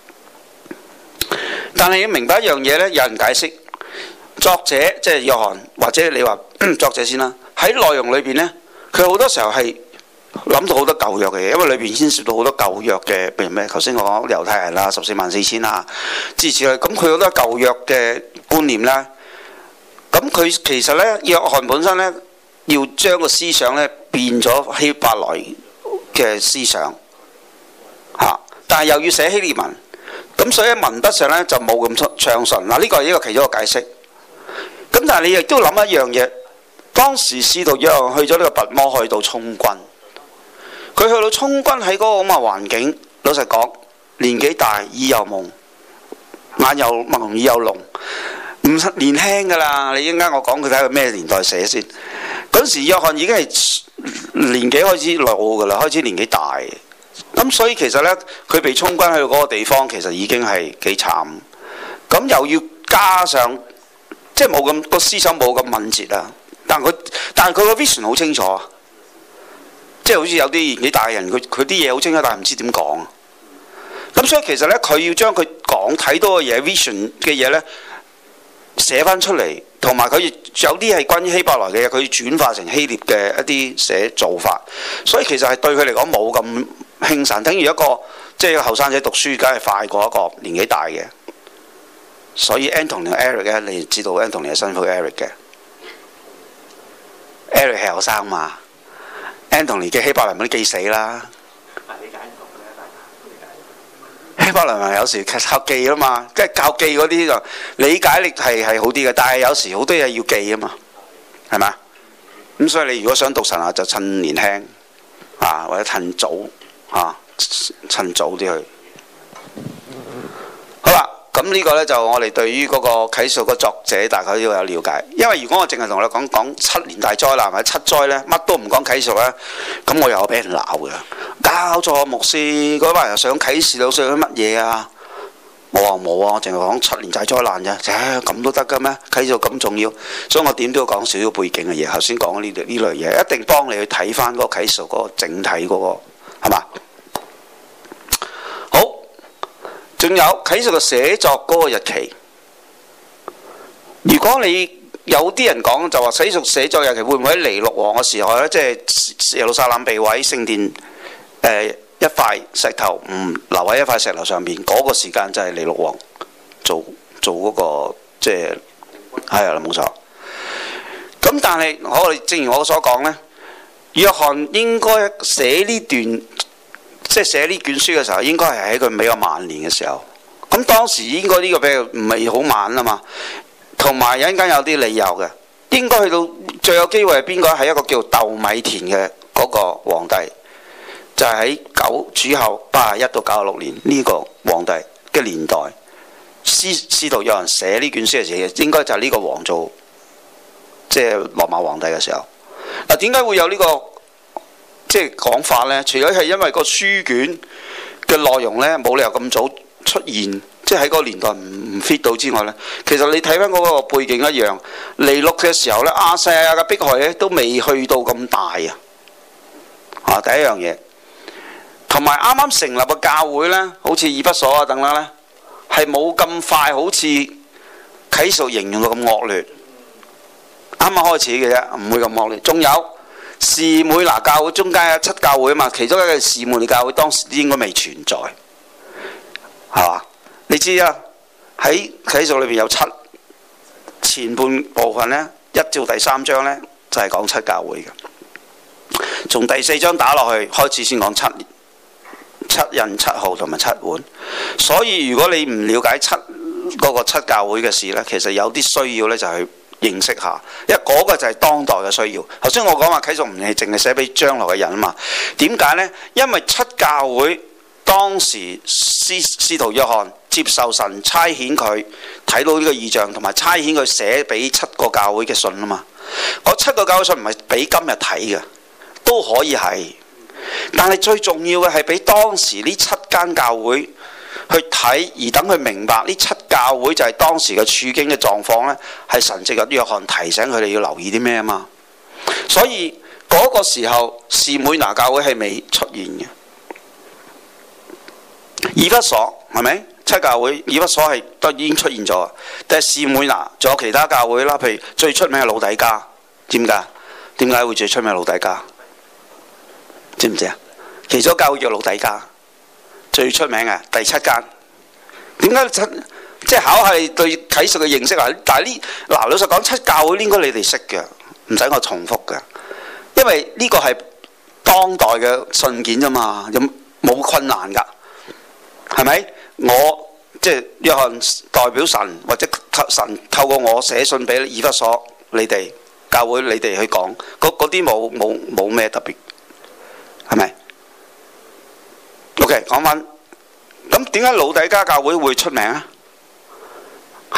但係要明白一樣嘢呢，有人解釋作者即係約翰，或者你話作者先啦，喺內容裏邊呢，佢好多時候係諗到好多舊約嘅嘢，因為裏邊牽涉到好多舊約嘅，譬如咩？頭先我講猶太人啦，144000啦，諸如此類。咁佢好多舊約嘅觀念啦。咁佢其實呢，約翰本身呢，要將個思想呢變咗希伯來嘅思想嚇，但係又要寫希臘文，咁所以喺文筆上呢，就冇咁暢順。嗱，呢個係一個其中一個解釋。咁但係你亦都諗一樣嘢，當時使徒約翰去咗呢個拔摩去到充軍。佢去到充軍喺嗰個咁嘅環境，老實講，年紀大，耳又矇， 眼又朦耳又聾，唔年輕㗎啦。你一陣間我講佢睇佢咩年代寫先。嗰時約翰已經係年紀開始老㗎啦，開始年紀大。咁所以其實呢，佢被充軍去到嗰個地方，其實已經係幾慘。咁又要加上即係冇咁個思想冇咁敏捷啊。但係佢個 vision 好清楚啊。即係好似有啲年紀大嘅人，佢啲嘢好清楚，但係唔知點講。咁所以其實呢，佢要將佢講睇到嘅嘢 vision 嘅嘢呢，寫翻出嚟，同埋佢有啲係關於希伯來嘅嘢，佢要轉化成希臘嘅一啲寫做法。所以其實係對佢嚟講冇咁輕省，等於一個即係後生仔讀書，梗係快過一個年紀大嘅。所以 Anthony 同 Eric 咧，你知道 Anthony 係辛苦 Eric 嘅。Eric 係後生嘛 ，Anthony 嘅希伯來文都記死啦。希伯來文有時靠記啊嘛，即係靠記嗰啲就理解力係好啲嘅，但係有時好多嘢要記啊嘛，係咪？咁所以你如果想讀神學，就趁年輕啊，或者趁早啊，趁早啲去。好啦，咁呢個呢，就我哋對於嗰個啟示錄個作者大概都要有了解，因為如果我淨係同你講7年大災難或者7災呢，乜都唔講啟示錄呢，咁我又俾人鬧嘅。搞錯牧師嗰班人想啟示錄上乜嘢啊？我話冇啊，我淨係講7年大災難啫。咁都得㗎咩？啟示錄咁重要，所以我點都要講少少背景嘅嘢。頭先講呢類嘢，一定幫你去睇翻嗰個啟示錄嗰個整體嗰個係嘛？好，仲有啟示錄寫作嗰個日期。如果你有啲人講就話啟示錄寫作日期會唔會喺尼祿王嘅時候呢？即係耶路撒冷被毀，聖殿一塊石頭唔留喺一塊石頭上面，嗰個時間就係尼祿王做嗰個即係係啊，冇錯。咁但係我哋正如我所講呢，約翰應該寫呢段即係寫呢卷書嘅時候，應該係喺佢比較晚年嘅時候。咁當時應該呢個比較唔係好晚啊嘛，同埋有陣間有啲理由嘅，應該去到最有機會係邊個？係一個叫竇米田嘅嗰個皇帝。就係喺主後81到96年呢個皇帝嘅年代，司徒約翰寫呢卷書嘅時候，應該就係呢個王做即係羅馬皇帝嘅時候。嗱，點解會有呢個即係講法呢？除咗係因為個書卷嘅內容呢冇理由咁早出現，即係喺嗰個年代唔 fit 到之外呢，其實你睇翻嗰個背景一樣，尼祿嘅時候呢，亞細亞嘅迫害呢都未去到咁大啊！第一樣嘢。同埋啱啱成立嘅教會呢，好似以弗所啊等等呢，係冇咁快好似啟示錄形容到咁惡劣。啱啱開始嘅啫，唔會咁惡劣。仲有士每拿教會中間有7教會啊嘛，其中一個士每拿教會當時應該未存在，係嘛？你知啊，喺啟示錄裏邊有前半部分呢，1至第3章呢，就係講7教會嘅。從第4章打落去開始先講7印7號同埋7碗，所以如果你唔了解嗰個7教會嘅事呢，其實有啲需要呢，就去認識下，因為嗰個就係當代嘅需要。頭先我講話啟示錄唔係淨係寫俾將來嘅人啊嘛，點解呢？因為7教會當時司徒約翰接受神差遣佢睇到呢個異象，同埋差遣佢寫俾7個教會嘅信啊嘛。嗰7個教會信唔係俾今日睇嘅，都可以係。但係最重要嘅係俾當時呢7間教會去睇，而等佢明白呢7教會就係當時嘅處境嘅狀況呢，係神藉着約翰提醒佢哋要留意啲咩啊嘛。所以嗰個時候士每拿教會係未出現嘅。以弗所係咪7教會？以弗所係都已經出現咗，但係士每拿仲有其他教會啦，譬如最出名係老底嘉，知唔知啊？點解會最出名老底嘉？知唔知啊？其中教會叫老底嘉，最出名嘅第7間。點解即係考下你對啟示嘅認識啊？但係老實講，7教會應該你哋識嘅，唔使我重複嘅，因為呢個係當代嘅信件啫嘛，冇困難㗎，係咪？我即係約翰代表神，或者神透過我寫信俾以弗所你哋教會，你哋去講嗰啲冇咩特別。係咪 ？OK， 講翻咁點解老底嘉教會會出名啊？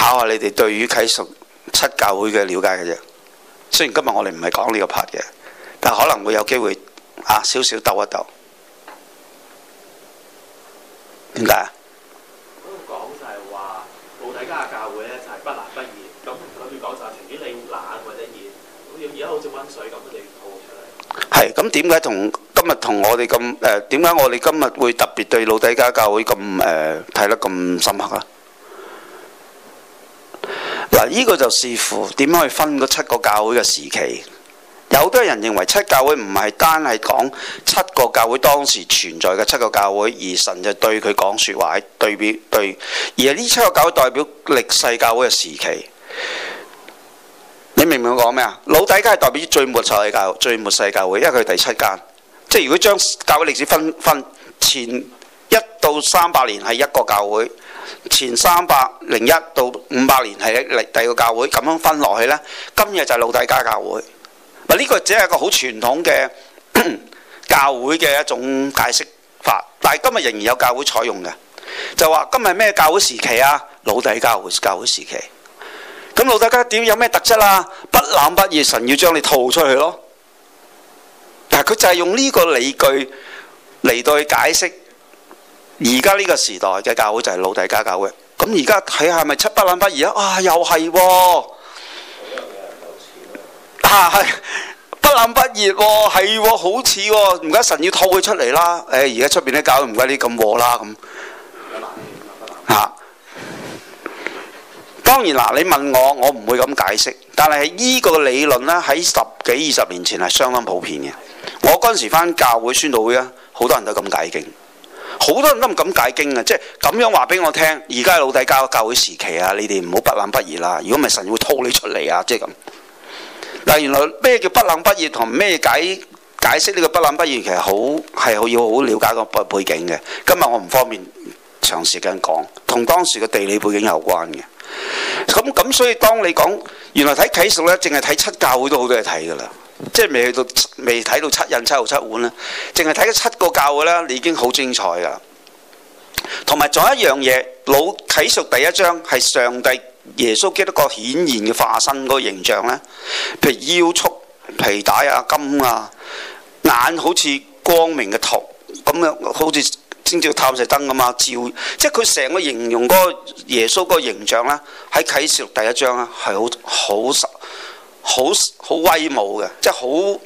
考下你哋對於啟示錄七教會嘅了解嘅啫。雖然今日我哋唔係講呢個 part 嘅，但可能會有機會少少鬥一鬥。點解啊？ 嗰度講就係話老底嘉嘅教會咧就係不冷不熱，咁佢哋講就係情願你冷或者熱，咁而家好似温水咁，佢哋吐出嚟。係， 咁點解今日同我哋咁點解我哋今日會特別對老底嘉教會咁睇得咁深刻啊？嗱，呢個就視乎點樣去分嗰七個教會嘅時期。有好多人認為七教會唔係單係講七個教會當時存在嘅七個教會，而神就對佢講説話，對，而係呢七個教會代表歷世教會嘅時期。你明唔明我講咩啊？老底嘉係代表最末世教會，因為佢係第七間。即係如果將教會歷史分前1到300年係一個教會，前301到500年係第二個教會，咁樣分落去呢，今日就係老底嘉教會。嗱，呢個只係一個好傳統嘅教會嘅一種解釋法，但係今日仍然有教會採用嘅，就話今日咩教會時期啊？老底嘉教會時期。咁老底嘉點有咩特質啊？不冷不熱，神要將你吐出去咯。但係佢就係用呢個理據嚟到去解釋而家呢個時代嘅教會就係老底嘉教會。咁而家睇下係咪不冷不熱啊？又係喎。係不冷不熱喎，係喎，好似喎，唔該神要吐佢出嚟啦。而家出邊啲教會唔該你咁和啦咁嚇。當然嗱，你問我唔會咁解釋，但係依個理論呢，喺10幾20年前係相當普遍嘅。我嗰陣時返教會宣道會啊，好多人都咁解經，好多人都唔敢解經啊，即係咁樣話俾我聽。而家係老底嘉教會時期啊，你哋唔好不冷不熱啦，如果唔係神會吐你出嚟啊，即係咁。嗱，原來咩叫不冷不熱同咩解釋呢個不冷不熱，其實要好了解個背景嘅。今日我唔方便長時間講，同當時嘅地理背景有關嘅。咁所以當你講原來睇啟示咧，淨係睇七教會都好多嘢睇㗎啦，即係未睇到七印、七號、七碗咧，淨係睇咗七個教會咧，你已經好精彩㗎。同埋仲有一樣嘢，啟示第一章係上帝耶穌基督個顯現嘅化身嗰個形象呢，譬如腰束皮帶啊、金啊，眼好似光明嘅銅咁樣，好似先照探射燈咁啊，照，即係佢成個形容嗰個耶穌嗰個形象呢，喺啟示第一章啊係好威武嘅，即係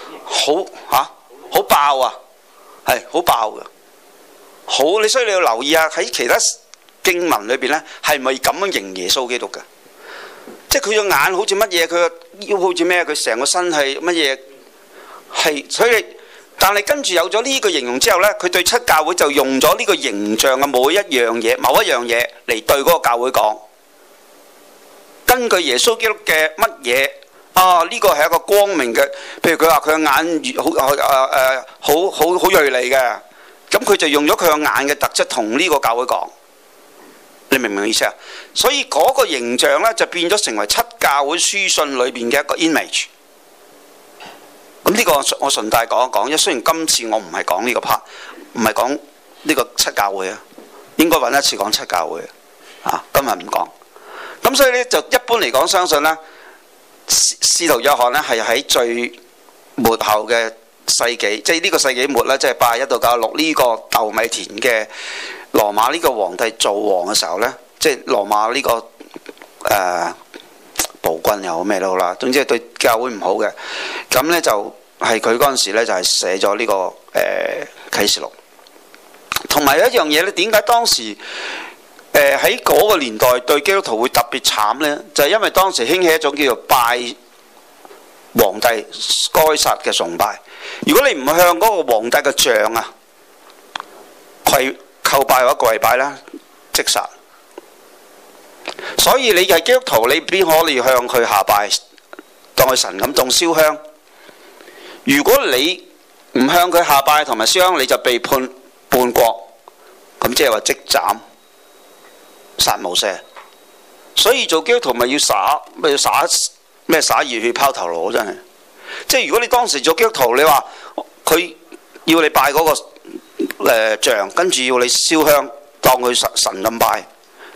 好爆啊，係好爆嘅，好你所以你要留意下喺其他經文裏邊呢，係咪咁樣形容耶穌基督嘅？即係佢個眼好似乜嘢，佢個腰好似咩，佢成個身係乜嘢？係所以，但係跟住有咗呢個形容之後呢，佢對七教會就用咗呢個形象嘅某一樣嘢嚟對嗰個教會講。根據耶穌基督嘅乜嘢啊？呢個係一個光明嘅，譬如佢話佢個眼好鋭利嘅，咁佢就用咗佢個眼嘅特質同呢個教會講。你明唔明意思啊？所以嗰個形象呢，就變咗成為七教會書信裏邊嘅一個 image。咁呢個我順帶講一講，因為雖然今次我唔係講呢個 part，唔係講呢個七教會啊，應該揾一次講七教會啊。今日唔講。咁所以呢，就一般嚟講，相信呢，使徒約翰呢係喺最末後嘅世紀，即係呢個世紀末呢，即係81到96呢個豆米田嘅羅馬呢個皇帝做王嘅時候呢，即係羅馬呢個暴君又好咩都好啦，總之係對教會唔好嘅。咁呢，就係佢嗰陣時呢就係寫咗呢個啟示錄。同埋有一樣嘢呢，點解當時喺嗰個年代對基督徒會特別慘呢？就係因為當時興起一種叫做拜皇帝該撒嘅崇拜。如果你唔向嗰個皇帝嘅像啊叩拜或者跪拜啦，即殺。所以你係基督徒，你邊可以向佢下拜，當佢神咁，當燒香。如果你唔向佢下拜同埋燒香，你就被判叛國，咁即係話即斬、殺無赦。所以做基督徒咪要灑熱血拋頭顱，真係。即係如果你當時做基督徒，你話佢要你拜嗰個像，跟住要你燒香，當佢神咁拜，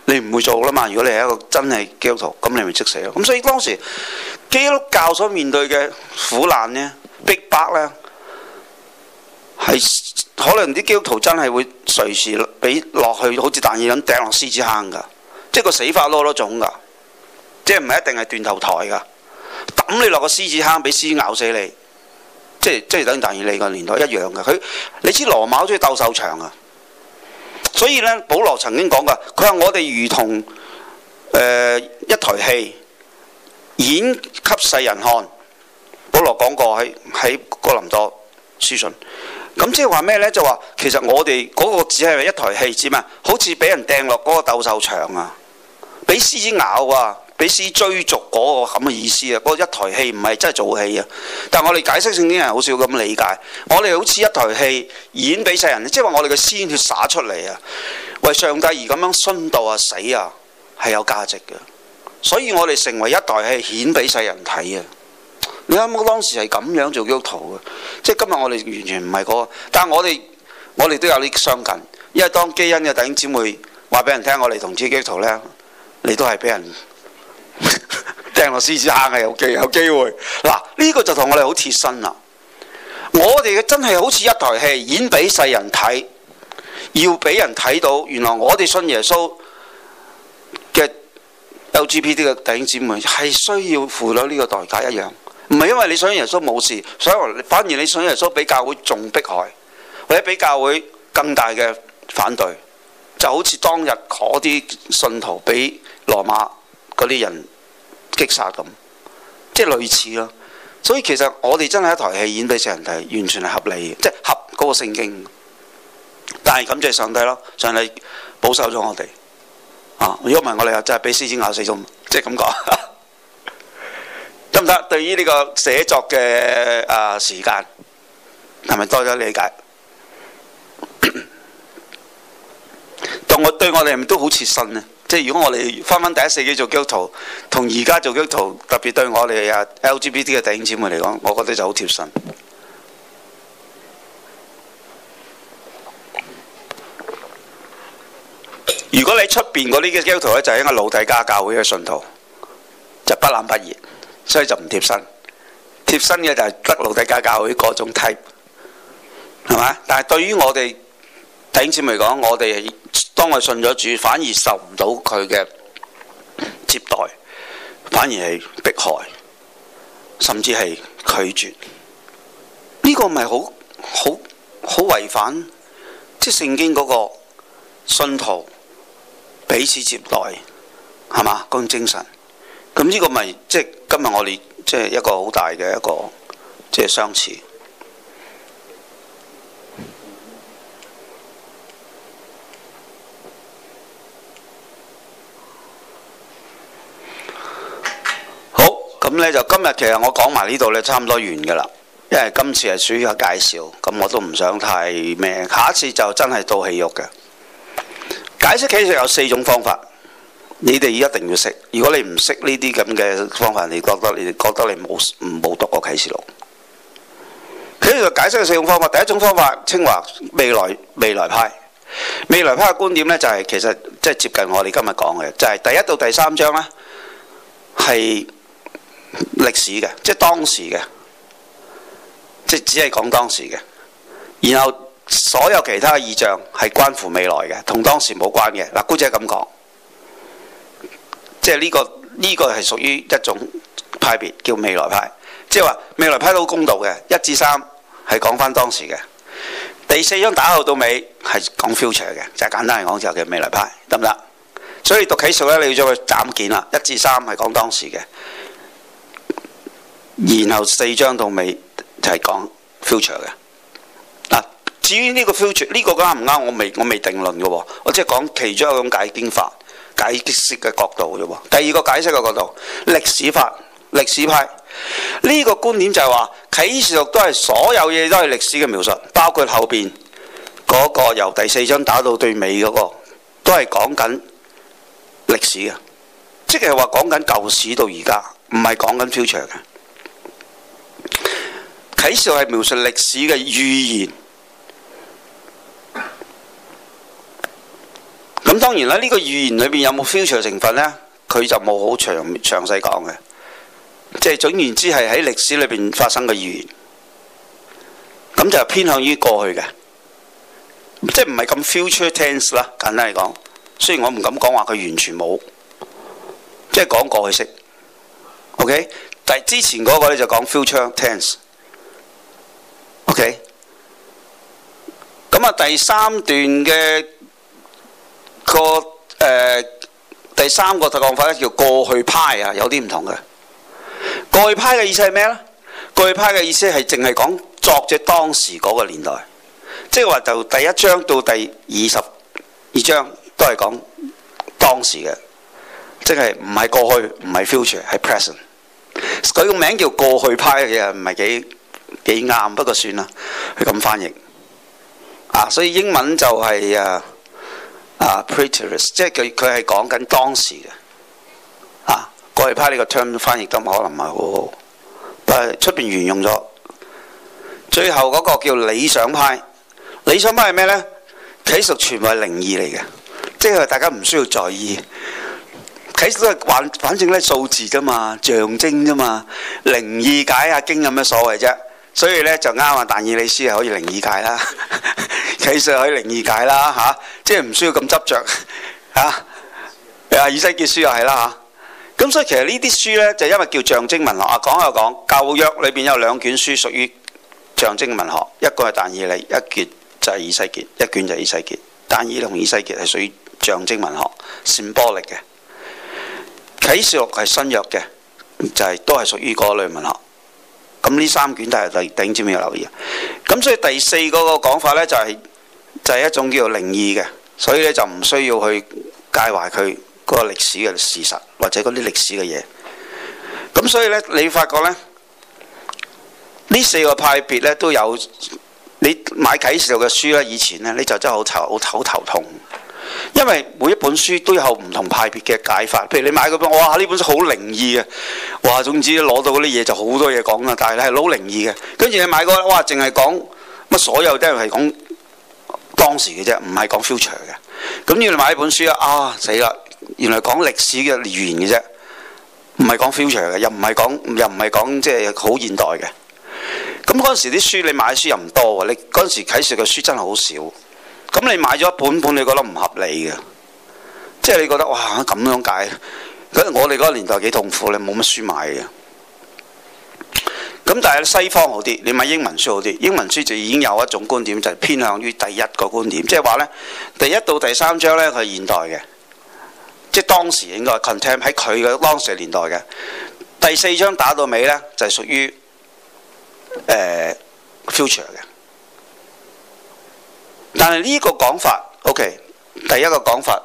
你唔會做啦嘛。如果你係一個真係基督徒，咁你咪即死咯。咁所以當時基督教所面對嘅苦難呢、逼迫呢，係可能啲基督徒真係會隨時俾落去，好似但以理咁掟落獅子坑㗎，即係個死法多多種㗎，即係唔係一定係斷頭台㗎，抌你落個獅子坑，俾獅子咬死你，即係等於但以理個年代一樣嘅。你知羅馬好中意鬥獸場啊，所以呢，保羅曾經講過，佢話我哋如同一台戲演給世人看。保羅講過喺哥林多書信。咁即係話咩呢？就話其實我哋嗰個只係一台戲啫嘛，好似俾人掟落嗰個鬥獸場啊，俾獅子咬啊，俾獅子追逐嗰個咁嘅意思啊。嗰、那個、一台戲唔係真係做戲啊。但係我哋解釋聖經人好少咁理解，我哋好似一台戲演俾世人，即係話我哋嘅鮮血灑出嚟啊，為上帝而咁樣殉道啊死啊，係有價值嘅。所以我哋成為一台戲顯俾世人睇啊。你諗下當時係咁樣做基督徒嘅，即係今日我哋完全唔係嗰個，但係我哋都有啲相近，因為當基恩嘅弟兄姊妹話俾人聽，我哋同志基督徒呢，你都係俾人掟落獅子坑嘅，有機會。嗱，呢個就同我哋好貼身啦。我哋嘅真係好似一台戲演俾世人睇，要俾人睇到原來我哋信耶穌嘅 LGBT 嘅弟兄姊妹係需要付咗呢個代價一樣。唔係因為你信耶穌冇事，反而你信耶穌比教會仲迫害，或者比教會更大嘅反對，就好似當日嗰啲信徒俾羅馬嗰啲人擊殺咁，即係類似咯。所以其實我哋真係一台戲演俾世人睇，完全係合理嘅，即係合嗰個聖經。但係感謝上帝咯，上帝保守咗我哋啊！如果唔係我哋又真係俾獅子咬死咗，即係咁講。得唔得？對於呢個寫作嘅時間係咪多咗理解？對我哋係咪都好切身呢？即係如果我哋翻第一世紀做基督徒，同而家做基督徒，特別對我哋LGBT 嘅弟兄姊妹嚟講，我覺得就好貼身。如果你出邊嗰啲嘅基督徒咧，就係一個老底嘉教會嘅信徒，就不冷不熱。所以就唔貼身，貼身嘅就係得老底嘉教會嗰種 type， 係嘛？但係對於我哋弟兄姊妹嚟講，我哋當我信咗主，反而受唔到佢嘅接待，反而係迫害，甚至係拒絕。呢個咪好違反即係聖經嗰個信徒彼此接待，係嘛？嗰種精神。咁呢個咪即係今日我哋即係一個好大嘅一個即係相似。好，咁呢就今日其實我講埋呢度呢，差唔多完㗎啦，因為今次係屬於一個介紹，咁我都唔想太咩。下一次就真係到戲肉嘅解釋。其實有4種方法。你哋一定要識，如果你唔識呢啲咁嘅方法，你覺得你冇讀過啟示錄。佢呢度解釋嘅4種方法，第一種方法稱為未來派。未來派嘅觀點呢，就係其實即係接近我哋今日講嘅，就係第1到第3章呢係歷史嘅，即係當時嘅，即係只係講當時嘅。然後所有其他嘅異象係關乎未來嘅，同當時冇關嘅。嗱，姑姐咁講。即係呢個係屬於一種派別，叫未來派。即係話未來派都好公道嘅，1至3係講翻當時嘅，第4章打後到尾係講 future 嘅，就係簡單嚟講就叫未來派，得唔得？所以讀啟示錄咧，你要將佢斬件啦，1至3係講當時嘅，然後4章到尾就係講 future 嘅。嗱，至於呢個 future 呢個啱唔啱，我未定論嘅喎，我即係講其中一種解經法。解釋嘅角度啫喎。第二個解釋嘅角度，歷史派呢個觀點就係話啟示錄都係所有嘢都係歷史嘅描述，包括後邊嗰個由第4章打到對尾嗰個，都係講緊歷史嘅，即係話講緊舊史到而家，唔係講緊 future 嘅。啟示錄係描述歷史嘅預言。咁當然啦，呢個預言裏邊有冇 future 成分呢？佢就冇好詳細講嘅，即係總言之係喺歷史裏邊發生嘅預言，咁就偏向於過去嘅，即係唔係咁 future tense 啦。簡單嚟講，雖然我唔敢講話佢完全冇，即係講過去式。OK， 但係之前嗰個咧就講 future tense。OK， 咁啊第三段嘅第三個講法咧叫過去派啊，有啲唔同嘅。過去派嘅意思係咩呢？過去派嘅意思係淨係講作者當時嗰個年代，即係話就第一章到第22章都係講當時嘅，即係唔係過去，唔係 future， 係 present。佢個名叫過去派嘅嘢唔係幾啱，不過算啦，佢咁翻譯啊，所以英文就係preterist， 即係佢係講緊當時嘅啊。過去派呢個 term 翻譯得可能唔係好好，但係出邊沿用咗。最後嗰個叫理想派，理想派係咩呢？啟示全部係靈異嚟嘅，即係大家唔需要在意。啟示都係反正咧數字啫嘛，象徵啫嘛，靈異解下經有咩所謂啫？所以咧就啱啊！但以理書係可以靈異解啦，啟示可以靈異解啦嚇，即係唔需要咁執着嚇。以西結書又係啦嚇。咁所以其實呢啲書咧就因為叫象徵文學啊，講又講舊約裏邊有兩卷書屬於象徵文學，一個係但以理，一卷就係以西結，一卷就係以西結。但以理同以西結係屬於象徵文學 symbolic 嘅。啟示錄係新約嘅，就係都係屬於嗰類文學。咁呢三卷都係弟兄姊妹要留意。咁所以第四個講法呢，就係一種叫做靈異嘅，所以呢，就唔需要去介懷佢嗰個歷史嘅事實或者嗰啲歷史嘅嘢。咁所以呢，你發覺呢，呢四個派別呢都有。你買啟示錄嘅書呢，以前呢，你就真係好頭痛。因為每一本書都有唔同派別嘅解法，譬如你買嗰本，哇呢本書好靈異嘅，哇總之攞到嗰啲嘢就好多嘢講啦，但係你係好靈異嘅。跟住你買嗰，哇淨係講乜所有都係講當時嘅啫，唔係講 future 嘅。咁要你買一本書啊死啦，原來講歷史嘅預言嘅啫，唔係講 future 嘅，又唔係講即係好現代嘅。咁嗰陣時啲書你買書又唔多喎，你嗰陣時啟示嘅書真係好少。咁你買咗一本，你覺得唔合理嘅，即係你覺得哇咁樣解，我哋嗰個年代幾痛苦，你冇乜書買嘅。咁但係西方好啲，你買英文書好啲，英文書就已經有一種觀點，就係偏向於第一個觀點，即係話呢，第一到第三章呢，佢係現代嘅，即係當時應該 contempt 喺佢嘅當時年代嘅。第四章打到尾呢，就係屬於future 嘅。但係呢個講法 ，OK， 第一個講法，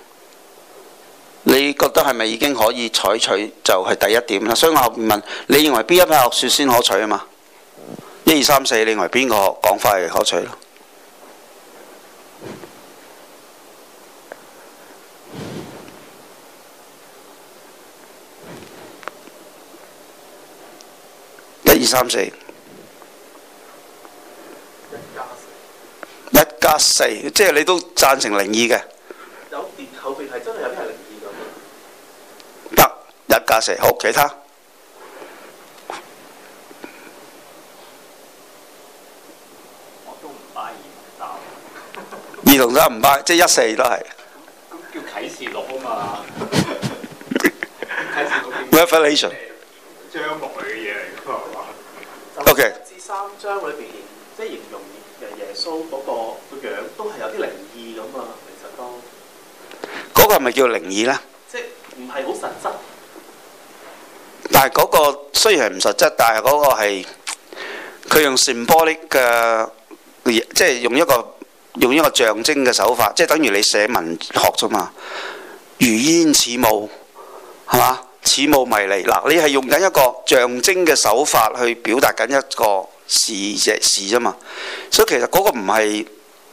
你覺得係咪已經可以採取就係第一點啦？所以我後面問你認為邊一派學説先可取啊嘛？1、2、3、4，你認為邊個講法係可取咯？1、2、3、4。1+4，即係你都贊成靈異嘅。 有啲後邊係真係有啲係靈異咁。 得1+4，好，其他。 我都唔 buy 2同3。 2同3唔 buy，即係1、4都係。 咁叫啟示錄啊嘛。啟示錄。 Revelation。 將來嘅嘢嚟㗎嘛。 OK。 1至3章裏邊，即係形容耶穌嗰個樣都係有啲靈異咁啊，其實都。 嗰個係咪叫靈異呢？ 即係唔係好實質。 但係嗰個雖然係唔實質，但係嗰個係佢用 symbolic 嘅，即係用一個象徵嘅手法，即係等於你寫文學啫嘛。如煙似霧，係嘛？似霧迷離。嗱，你係用緊一個象徵嘅手法去表達緊一個事啫嘛。所以其實嗰個唔係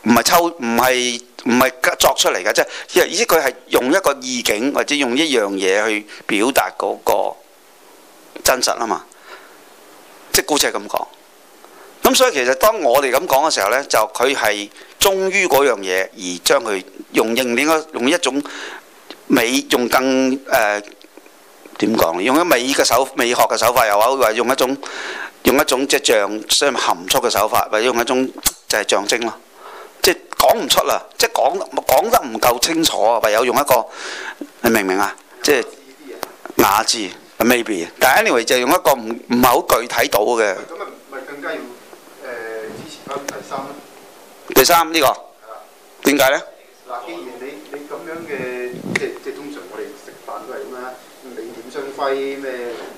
作出嚟嘅，即係意思佢係用一個意境或者用一樣嘢去表達嗰個真實啊嘛。即係姑且咁講。咁咁所以其實當我哋咁講嘅時候呢，就佢係忠於嗰樣嘢，而將佢用一種美，用更點講？用咗美學嘅手法又好，或者用一種即係相含蓄嘅手法，或者用一種就係象徵咯。即係講唔出啦，即係講得唔夠清楚啊！唯有用一個，你明唔明啊？即係雅致 maybe， 但係 anyway 就用一個唔係好具體到嘅。 咁咪更加要支持翻第三呢個點解呢？ 嗱，既然你咁樣嘅，即係通常我哋食飯都係咁啦，美點雙輝咩？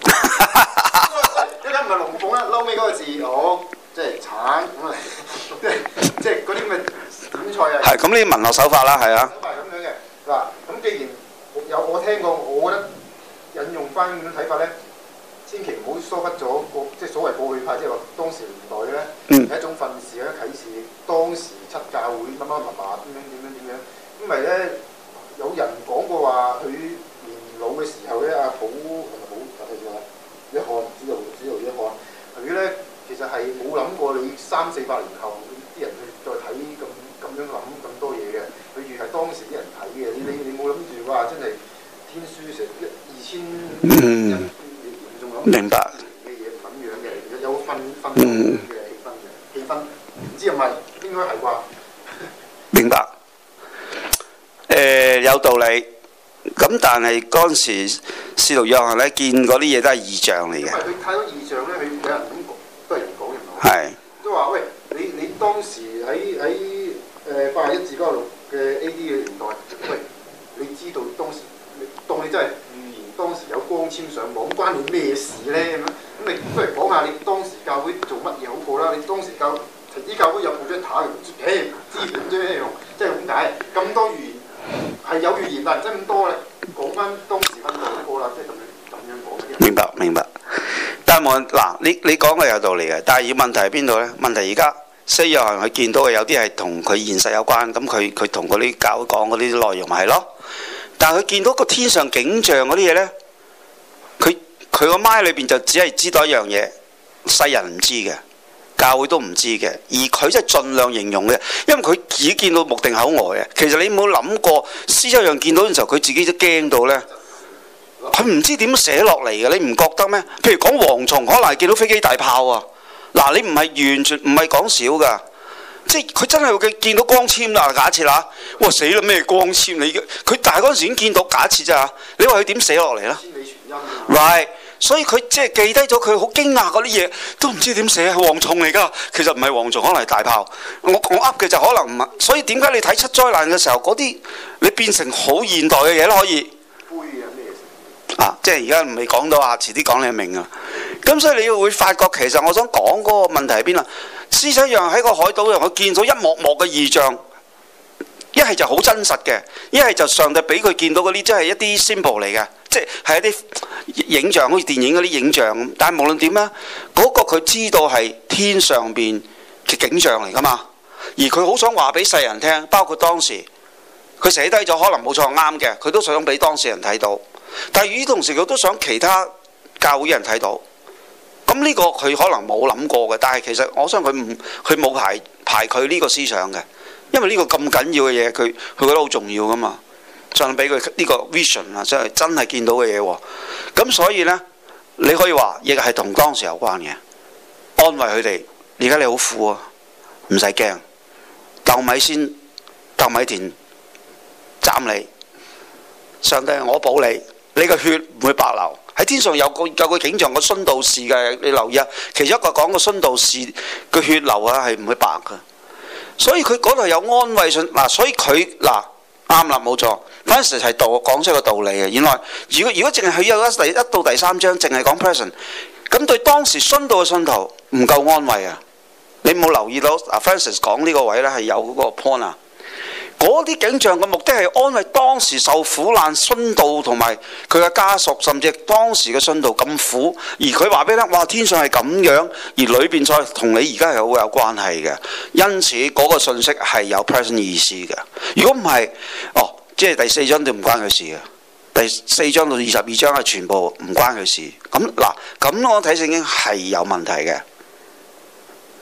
一間唔係龍鳳啦，嬲尾嗰個字即係橙咁啊！即係嗰啲咩點菜啊？ 係咁呢啲文學手法啦，係啊。 手法係咁樣嘅嗱，咁既然我聽過，我覺得引用翻咁樣睇法咧，千祈唔好疏忽咗即係所謂過去派，即係話當時年代咧係一種訓示咧啟示當時七教會乜點樣，因為咧有人講過話佢年老嘅時候咧，阿寶係咪寶一漢主導一漢，佢咧其實係冇諗過你300-400年後啲人去再睇咁樣諗咁多嘢嘅，佢越係當時啲人睇嘅，你冇諗住話真係天書成2000人仲諗明白嘅嘢咁樣嘅，有氛嘅氣氛，唔知係咪應該係啩？ 明白。有道理。咁但係嗰陣時，使徒約翰咧見嗰啲嘢都係異象嚟嘅。因為佢睇到異象咧，佢有人咁講，都係人講人講。 係。都話喂，你當時喺81至96嘅 AD 嘅年代，喂，你知道當時當你真係預言當時有光纖上網，關你咩事咧？咁你不如講下你當時教會做乜嘢好過啦？你當時陳子教會有部張塔，資本啫咩用？即係咁解，咁多預言。係有預言，但係真咁多咧，講翻當時分享過啦，即係咁樣講。 明白。但係嗱，你講嘅有道理嘅，但係問題係邊度咧？問題而家西約翰佢見到嘅有啲係同佢現實有關，咁佢同嗰啲教會講嗰啲內容咪係咯。但係佢見到個天上景象嗰啲嘢咧，佢個麥裏邊就只係知道一樣嘢，世人唔知嘅。教會都唔知嘅，而佢真係盡量形容嘅，因為佢自己見到目定口呆嘅。其實你冇諗過，施洗約翰見到嘅時候，佢自己都驚到呢。佢唔知點寫落嚟嘅，你唔覺得咩？譬如講蝗蟲，可能係見到飛機大炮啊！嗱，你唔係完全唔係講少㗎，即係佢真係會見到光纖啦。假設啦，哇死啦咩光纖？佢大嗰陣時已經見到，假設咋？你話佢點寫落嚟呢？Right。所以佢即係記低咗，佢好驚訝嗰啲嘢，都唔知點寫，係蝗蟲嚟㗎。其實唔係蝗蟲，可能係大炮。我噏嘅就可能唔係。所以點解你睇七災難嘅時候，嗰啲你變成好現代嘅嘢都可以。即係而家唔係講到啊，遲啲講你明啊。咁所以你會發覺，其實我想講嗰個問題喺邊啊？施洗約翰喺個海島度，佢見到一幕幕嘅異象，一係就好真實嘅，一係就上帝俾佢見到嗰啲，即係一啲 symbol 嚟嘅。即係一啲影像，好似電影嗰啲影像咁。但係無論點咧，嗰個佢知道係天上邊嘅景象嚟㗎嘛。而佢好想話俾世人聽，包括當時佢寫低咗，可能冇錯啱嘅，佢都想俾當事人睇到。但係與此同時，佢都想其他教會人睇到。咁呢個佢可能冇諗過嘅，但係其實我相信佢冇排佢呢個思想嘅，因為呢個咁緊要嘅嘢，佢覺得好重要㗎嘛。上帝俾佢呢個 vision 啊，真係見到嘅嘢喎。咁所以呢，你可以話亦係同當時有關嘅，安慰佢哋。而家你好苦啊，唔使驚，豆米田斬你，上帝我保你，你個血唔會白流。喺天上有個景象，個殉道士嘅，你留意啊。其中一個講個殉道士個血流啊係唔會白㗎，所以佢嗰度有安慰信嗱，所以佢嗱。啱啦，冇錯。Francis 係講出個道理嘅。原來如果淨係佢有一到第3章，淨係講 present， 咁對當時殉道嘅信徒唔夠安慰啊！你冇留意到Francis 講呢個位咧係有嗰個 point 啊？嗰啲景象嘅目的係安慰當時受苦難殉道同埋佢嘅家屬，甚至當時嘅殉道咁苦，而佢話俾你聽，哇！天上係咁樣，而裏邊再同你而家係好有關係嘅，因此嗰個信息係有 present 意思嘅。如果唔係，即係第4章都唔關佢事嘅，第4章到22章係全部唔關佢事。咁嗱，咁我睇聖經係有問題嘅。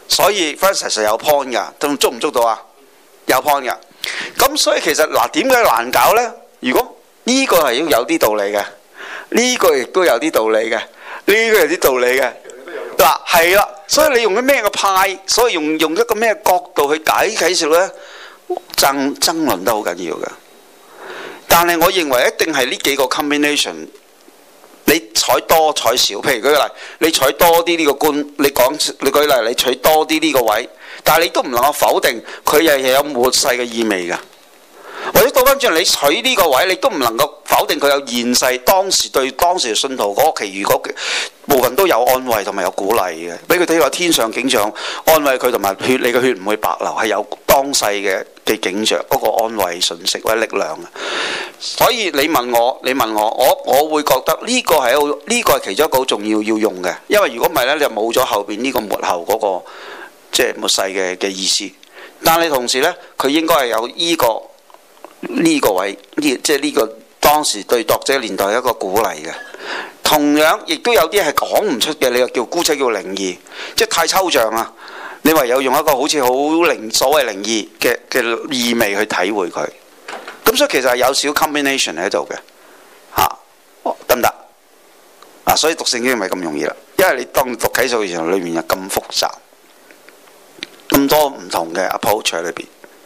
所以 Francis 有 point 㗎，捉唔捉到啊？有 point 㗎。咁所以其實嗱，點解難搞呢？如果呢個係要有啲道理嘅，呢個亦都有啲道理嘅，呢個有啲道理嘅。嗱係啦，所以你用咗咩個派，所以用一個咩角度去解啟示錄呢？爭論得好緊要嘅。但係我認為一定係呢幾個 combination。你採多採少，譬如舉個例，你採多啲呢個官，你舉例，你取多啲呢個位，但係你都唔能夠否定佢又有末世嘅意味㗎。或者倒翻轉，你取呢個位，你都唔能夠否定佢有現世當時對當時嘅信徒嗰其餘嗰部分都有安慰同埋有鼓勵嘅，俾佢睇話天上景象安慰佢，同埋你嘅血唔會白流，係有當世嘅景象嗰個安慰信息或者力量嘅。所以你問我，我會覺得呢個係其中一個好重要要用嘅，因為如果唔係呢，你就冇咗後邊呢個末後嗰個即係末世嘅意思。但係同時呢，佢應該係有呢個位，即係呢個當時對讀者年代一個鼓勵嘅。同樣亦都有啲係講唔出嘅，你又叫姑且叫靈異，即係太抽象啊！你唯有用一個好似好所謂靈異嘅意味去體會佢。咁所以其實係有少 combination 喺度嘅，得唔得？所以讀聖經唔係咁容易啦，因為你當讀啟示錄嘅時候，裏面有咁複雜，咁多唔同嘅 approach 喺裏邊。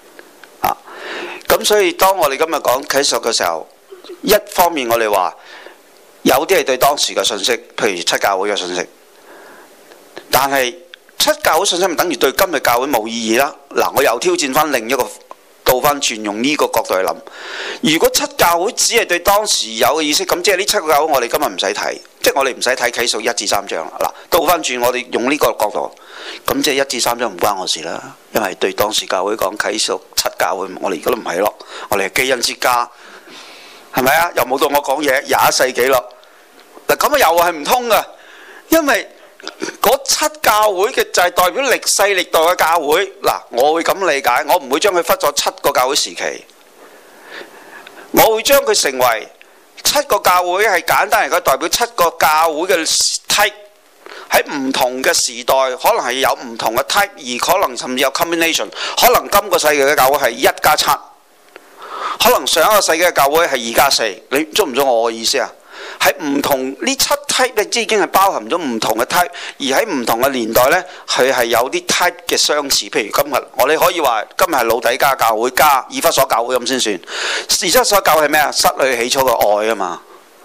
咁所以當我哋今日講啟示錄嘅時候，一方面我哋話有啲係對當時嘅信息，譬如七教會嘅信息，但係七教會信息唔等於對今日教會冇意義啦。嗱，我又挑戰翻另一個倒翻轉，用呢個角度去諗。如果七教會只係對當時有嘅意識，咁即係呢七個教會我哋今日唔使睇，即係我哋唔使睇啟示錄1至3章啦。嗱，倒翻轉我哋用呢個角度，咁即係1至3章唔關我事啦，因為對當時教會講啟示錄七教會，我哋而家都唔係咯，我哋係基恩之家，係咪啊？又冇到我講嘢21世紀咯。嗱，咁啊又係唔通㗎，因為嗰七教會嘅就係代表歷世歷代嘅教會。嗱，我會咁理解，我唔會將佢分咗七個教會時期，我會將佢成為七個教會係簡單嚟講代表七個教會嘅 type， 喺唔同嘅時代可能係有唔同嘅 type， 而可能甚至有 combination， 可能今個世紀嘅教會係1+7，可能上一個世紀嘅教會係2+4，你捉唔捉我嘅意思啊？喺唔同呢七 type 咧，已經係包含咗唔同嘅 type， 而喺唔同嘅年代呢，佢係有啲 type 嘅相似。譬如今日我哋可以話今日係老底嘉教會加以弗所教會咁先算。以弗所教會係咩啊？失去起初嘅愛啊嘛。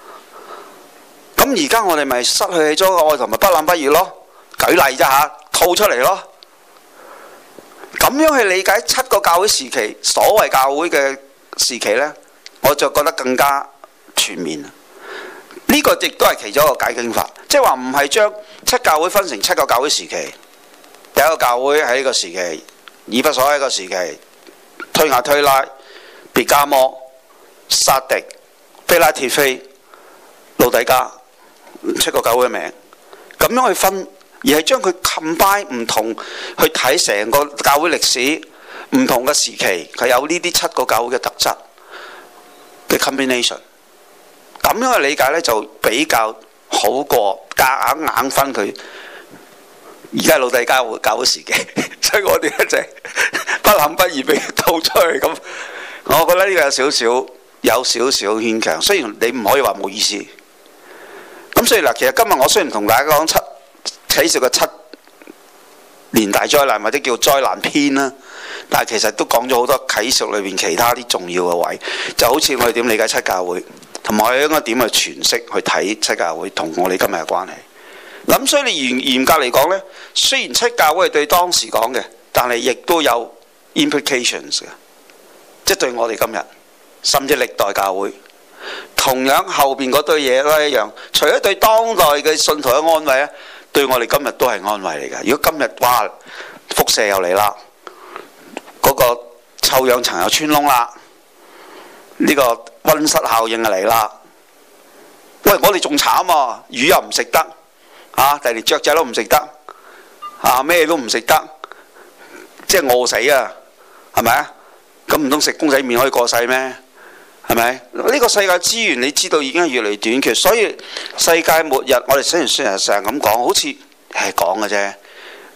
咁而家我哋咪失去起初嘅愛同埋不冷不熱咯。舉例啫嚇，套出嚟咯。咁樣去理解七個教會時期，所謂教會嘅時期呢，我就覺得更加全面。呢個亦都係其中一個解經法，即係話唔係將七教會分成七個教會時期。第一個教會喺呢個時期，以弗所喺一個時期，推雅推拉、別加摩、撒狄、非拉鐵非、老底嘉，七個教會嘅名，咁樣去分，而係將佢 combine 唔同去睇成個教會歷史，唔同嘅時期佢有呢啲七個教會嘅特質嘅 combination。咁樣嘅理解呢，就比較好過夾硬分佢。而家老底嘉教會時期，所以我哋一直不冷不熱被套出去咁。我覺得呢個有少少牽強，雖然你唔可以話冇意思。咁所以嗱，其實今日我雖然同大家講啟示嘅7年大災難或者叫災難篇啦，但係其實都講咗好多啟示裏邊其他啲重要嘅位，就好似我哋點理解七教會。同埋我哋應該點去詮釋去睇七教會同我哋今日嘅關係。咁所以你嚴格嚟講呢，雖然七教會係對當時講嘅，但係亦都有 implications 嘅，即係對我哋今日甚至歷代教會，同樣後邊嗰堆嘢都一樣。除咗對當代嘅信徒嘅安慰咧，對我哋今日都係安慰嚟㗎。如果今日哇輻射又嚟啦，嗰個臭氧層又穿窿啦，呢個溫室效應就嚟啦！喂，我哋仲慘啊！魚又唔食得，第連雀仔都唔食得，咩都唔食得，即係餓死啊！係咪啊？咁唔通食公仔麵可以過世咩？係咪？呢個世界資源你知道已經係越嚟越短缺，所以世界末日我哋雖然成日咁講，好似係講嘅啫。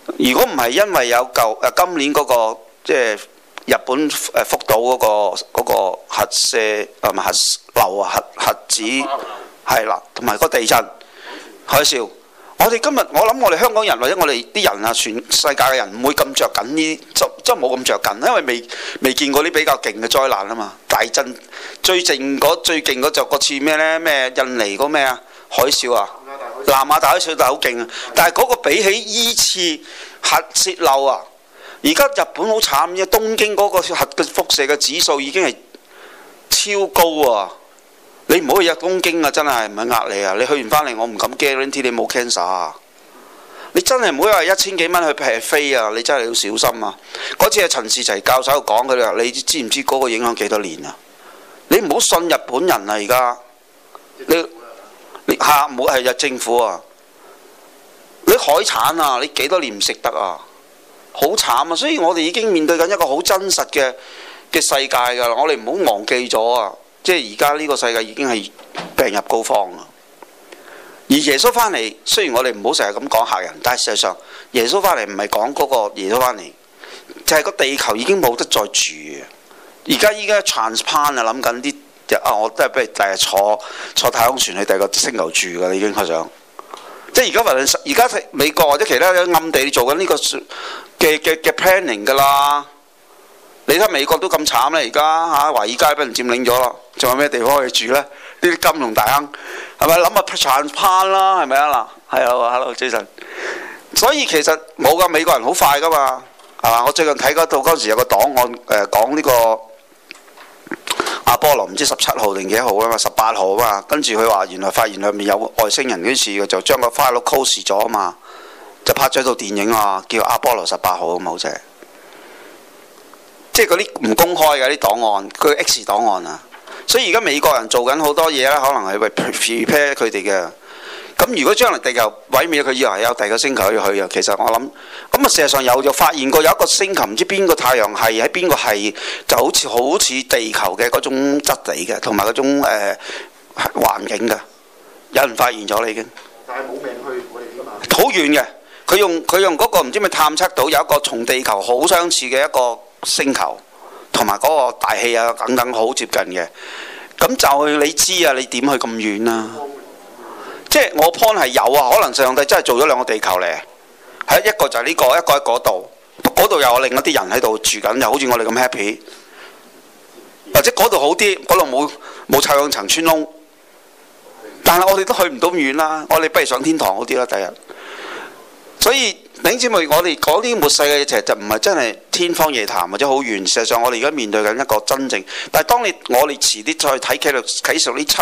如果唔係因為有今年嗰個即係日本福島嗰個核射係咪核流啊核子係啦，同埋個地震海嘯。我哋今日我諗我哋香港人或者我哋啲人啊，全世界嘅人唔會咁着緊呢，即係冇咁着緊，因為未見過啲比較勁嘅災難啊嘛。大震最勁嗰就個次咩呢？咩印尼嗰咩啊海嘯啊，南亞大海嘯就好勁啊。但係嗰個比起依次核泄漏啊，而家日本好慘啫，東京嗰個核嘅輻射嘅指數已經係超高啊！你唔好去東京啊，真係唔係呃你啊！你去完翻嚟，我唔敢 guarantee 你冇 cancer 啊！你真係唔好話1000幾蚊去劈飛啊！你真係要小心啊！嗰次係陳士齊教授講佢哋話，你知唔知嗰個影響幾多年啊？你唔好信日本人啊！而家你嚇唔好係日政府啊！你海產啊，你幾多年唔食得啊？好慘啊！所以我哋已經面對緊一個好真實嘅世界㗎啦！我哋唔好忘記咗啊！即係而家呢個世界已經係病入膏肓啊！而耶穌翻嚟，雖然我哋唔好成日咁講嚇人，但係事實上耶穌翻嚟唔係講嗰個耶穌翻嚟，就係個地球已經冇得再住嘅。而家依家 transplant 啊，諗緊啲我都係不如第日坐太空船去第二個星球住㗎啦，已經開想。即係而家美國或者其他暗地做緊呢個嘅 planning 㗎啦。你睇美國都咁慘啦，而家嚇華爾街俾人佔領咗啦，仲有咩地方可以住呢？呢啲金融大亨係咪諗下 transplant 啦？係咪啊嗱？係啊，hello Jason。所以其實冇㗎，美國人好快㗎嘛，係嘛？我最近睇嗰度嗰陣時有個檔案講呢個阿波羅唔知17號定幾號啊嘛，18號啊嘛，跟住佢話原來發現裏面有外星人嗰次，就將個 file close 咗啊嘛，就拍咗套電影啊，叫阿波羅18號咁好似。即係嗰啲唔公開嘅啲檔案，佢 X 檔案啊，所以而家美國人做緊好多嘢咧，可能係為 prepare 佢哋嘅。咁如果將來地球毀滅，佢以為係有第二個星球可以去啊。其實我諗，咁啊事實上有發現過有一個星球，唔知邊個太陽系喺邊個系，就好似地球嘅嗰種質地嘅，同埋嗰種環境嘅，有人發現咗啦已經。 但係冇命去我哋㗎嘛。 好遠嘅，佢用嗰個唔知咪探測到有一個同地球好相似嘅一個星球，同埋嗰個大氣啊等等好接近嘅，咁就你知啊，你點去咁遠啊？即係我 point 係有啊，可能上帝真係做咗兩個地球嚟，係一個就係呢個，一個喺嗰度，嗰度又有另一啲人喺度住緊，又好似我哋咁 happy，或者嗰度好啲，嗰度冇臭氧層穿窿，但係我哋都去唔到咁遠啦，我哋不如上天堂好啲啦，第日。所以弟兄姊妹，我哋講啲末世嘅嘢，其實就唔係真係天方夜譚或者好遠。事實上，我哋而家面對緊一個真正。但係當我哋遲啲再睇啟示錄呢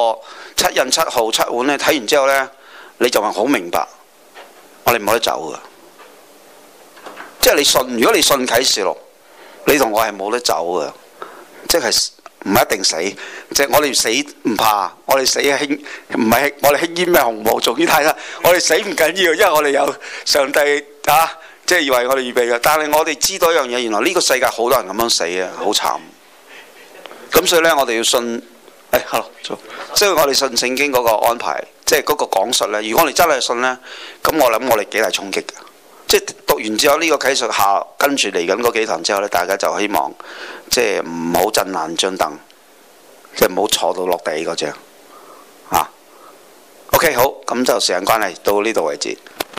7印7號7碗咧，睇完之後呢，你就話好明白，我哋冇得走㗎。即係你信，如果你信啟示錄，你同我係冇得走㗎，即係唔一定死。即係我哋死唔怕，我哋死輕唔係我哋輕煙咩紅毛做啲太啦。我哋死唔緊要，因為我哋有上帝啊，即係為我哋預備嘅。但係我哋知道一樣嘢，原來呢個世界好多人咁樣死啊，好慘。咁所以呢，我哋要信。hello，即係我哋信聖經嗰個安排，即係嗰個講述呢。如果我哋真係信呢，咁我諗我哋幾大衝擊㗎。即係讀完之後呢個啟示下，跟住嚟緊嗰幾堂之後呢，大家就希望即係唔好震爛張凳，即係唔好坐到落地嗰隻。OK， 好，咁就時間關係到呢度為止。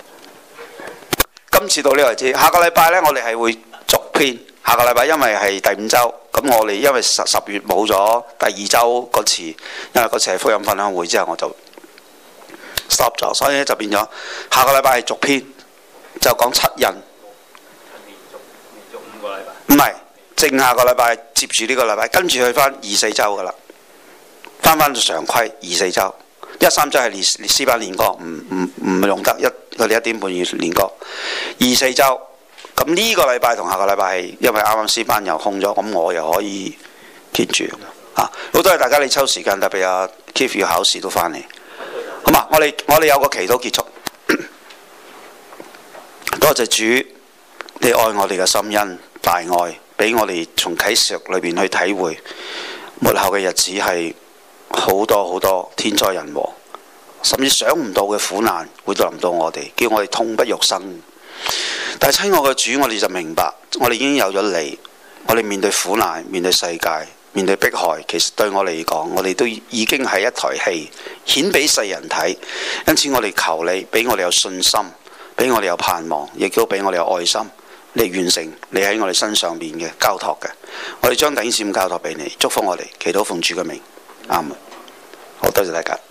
今次到呢度為止，下個禮拜呢，我哋係會續篇。下個禮拜因為係第5週，咁我哋因為10月冇咗第2週嗰次，因為嗰次係福音分享會之後我就 stop 咗，所以就變咗下個禮拜係續篇，就講7印。連續5個禮拜？唔係，正下個禮拜接住呢個禮拜，跟住去翻2、4週噶啦，翻到常規2、4週，1、3週係練詩班練歌，唔用得佢哋1點半要練歌，2、4週。咁呢個禮拜同下個禮拜係因為啱啱詩班又空咗，咁我又可以 keep 住啊！好多謝大家你抽時間，特別阿 Keith 要考試都翻嚟，好嘛？我哋有個祈禱結束。多謝主，你愛我哋嘅心恩大愛，俾我哋從啟示錄裏邊去體會末後嘅日子係好多好多天災人禍，甚至想唔到嘅苦難會臨到我哋，叫我哋痛不欲生。 但係親愛嘅主，我哋就明白，我哋已經有咗你，我哋面對苦難、面對世界、面對迫害，其實對我嚟講，我哋都已經係一台戲，顯俾世人睇。因此我哋求你，俾我哋有信心，俾我哋有盼望，亦都俾我哋有愛心，嚟完成你喺我哋身上面嘅交託嘅。我哋將頂線交託俾你，祝福我哋，祈禱奉主嘅名，阿門。好多謝大家。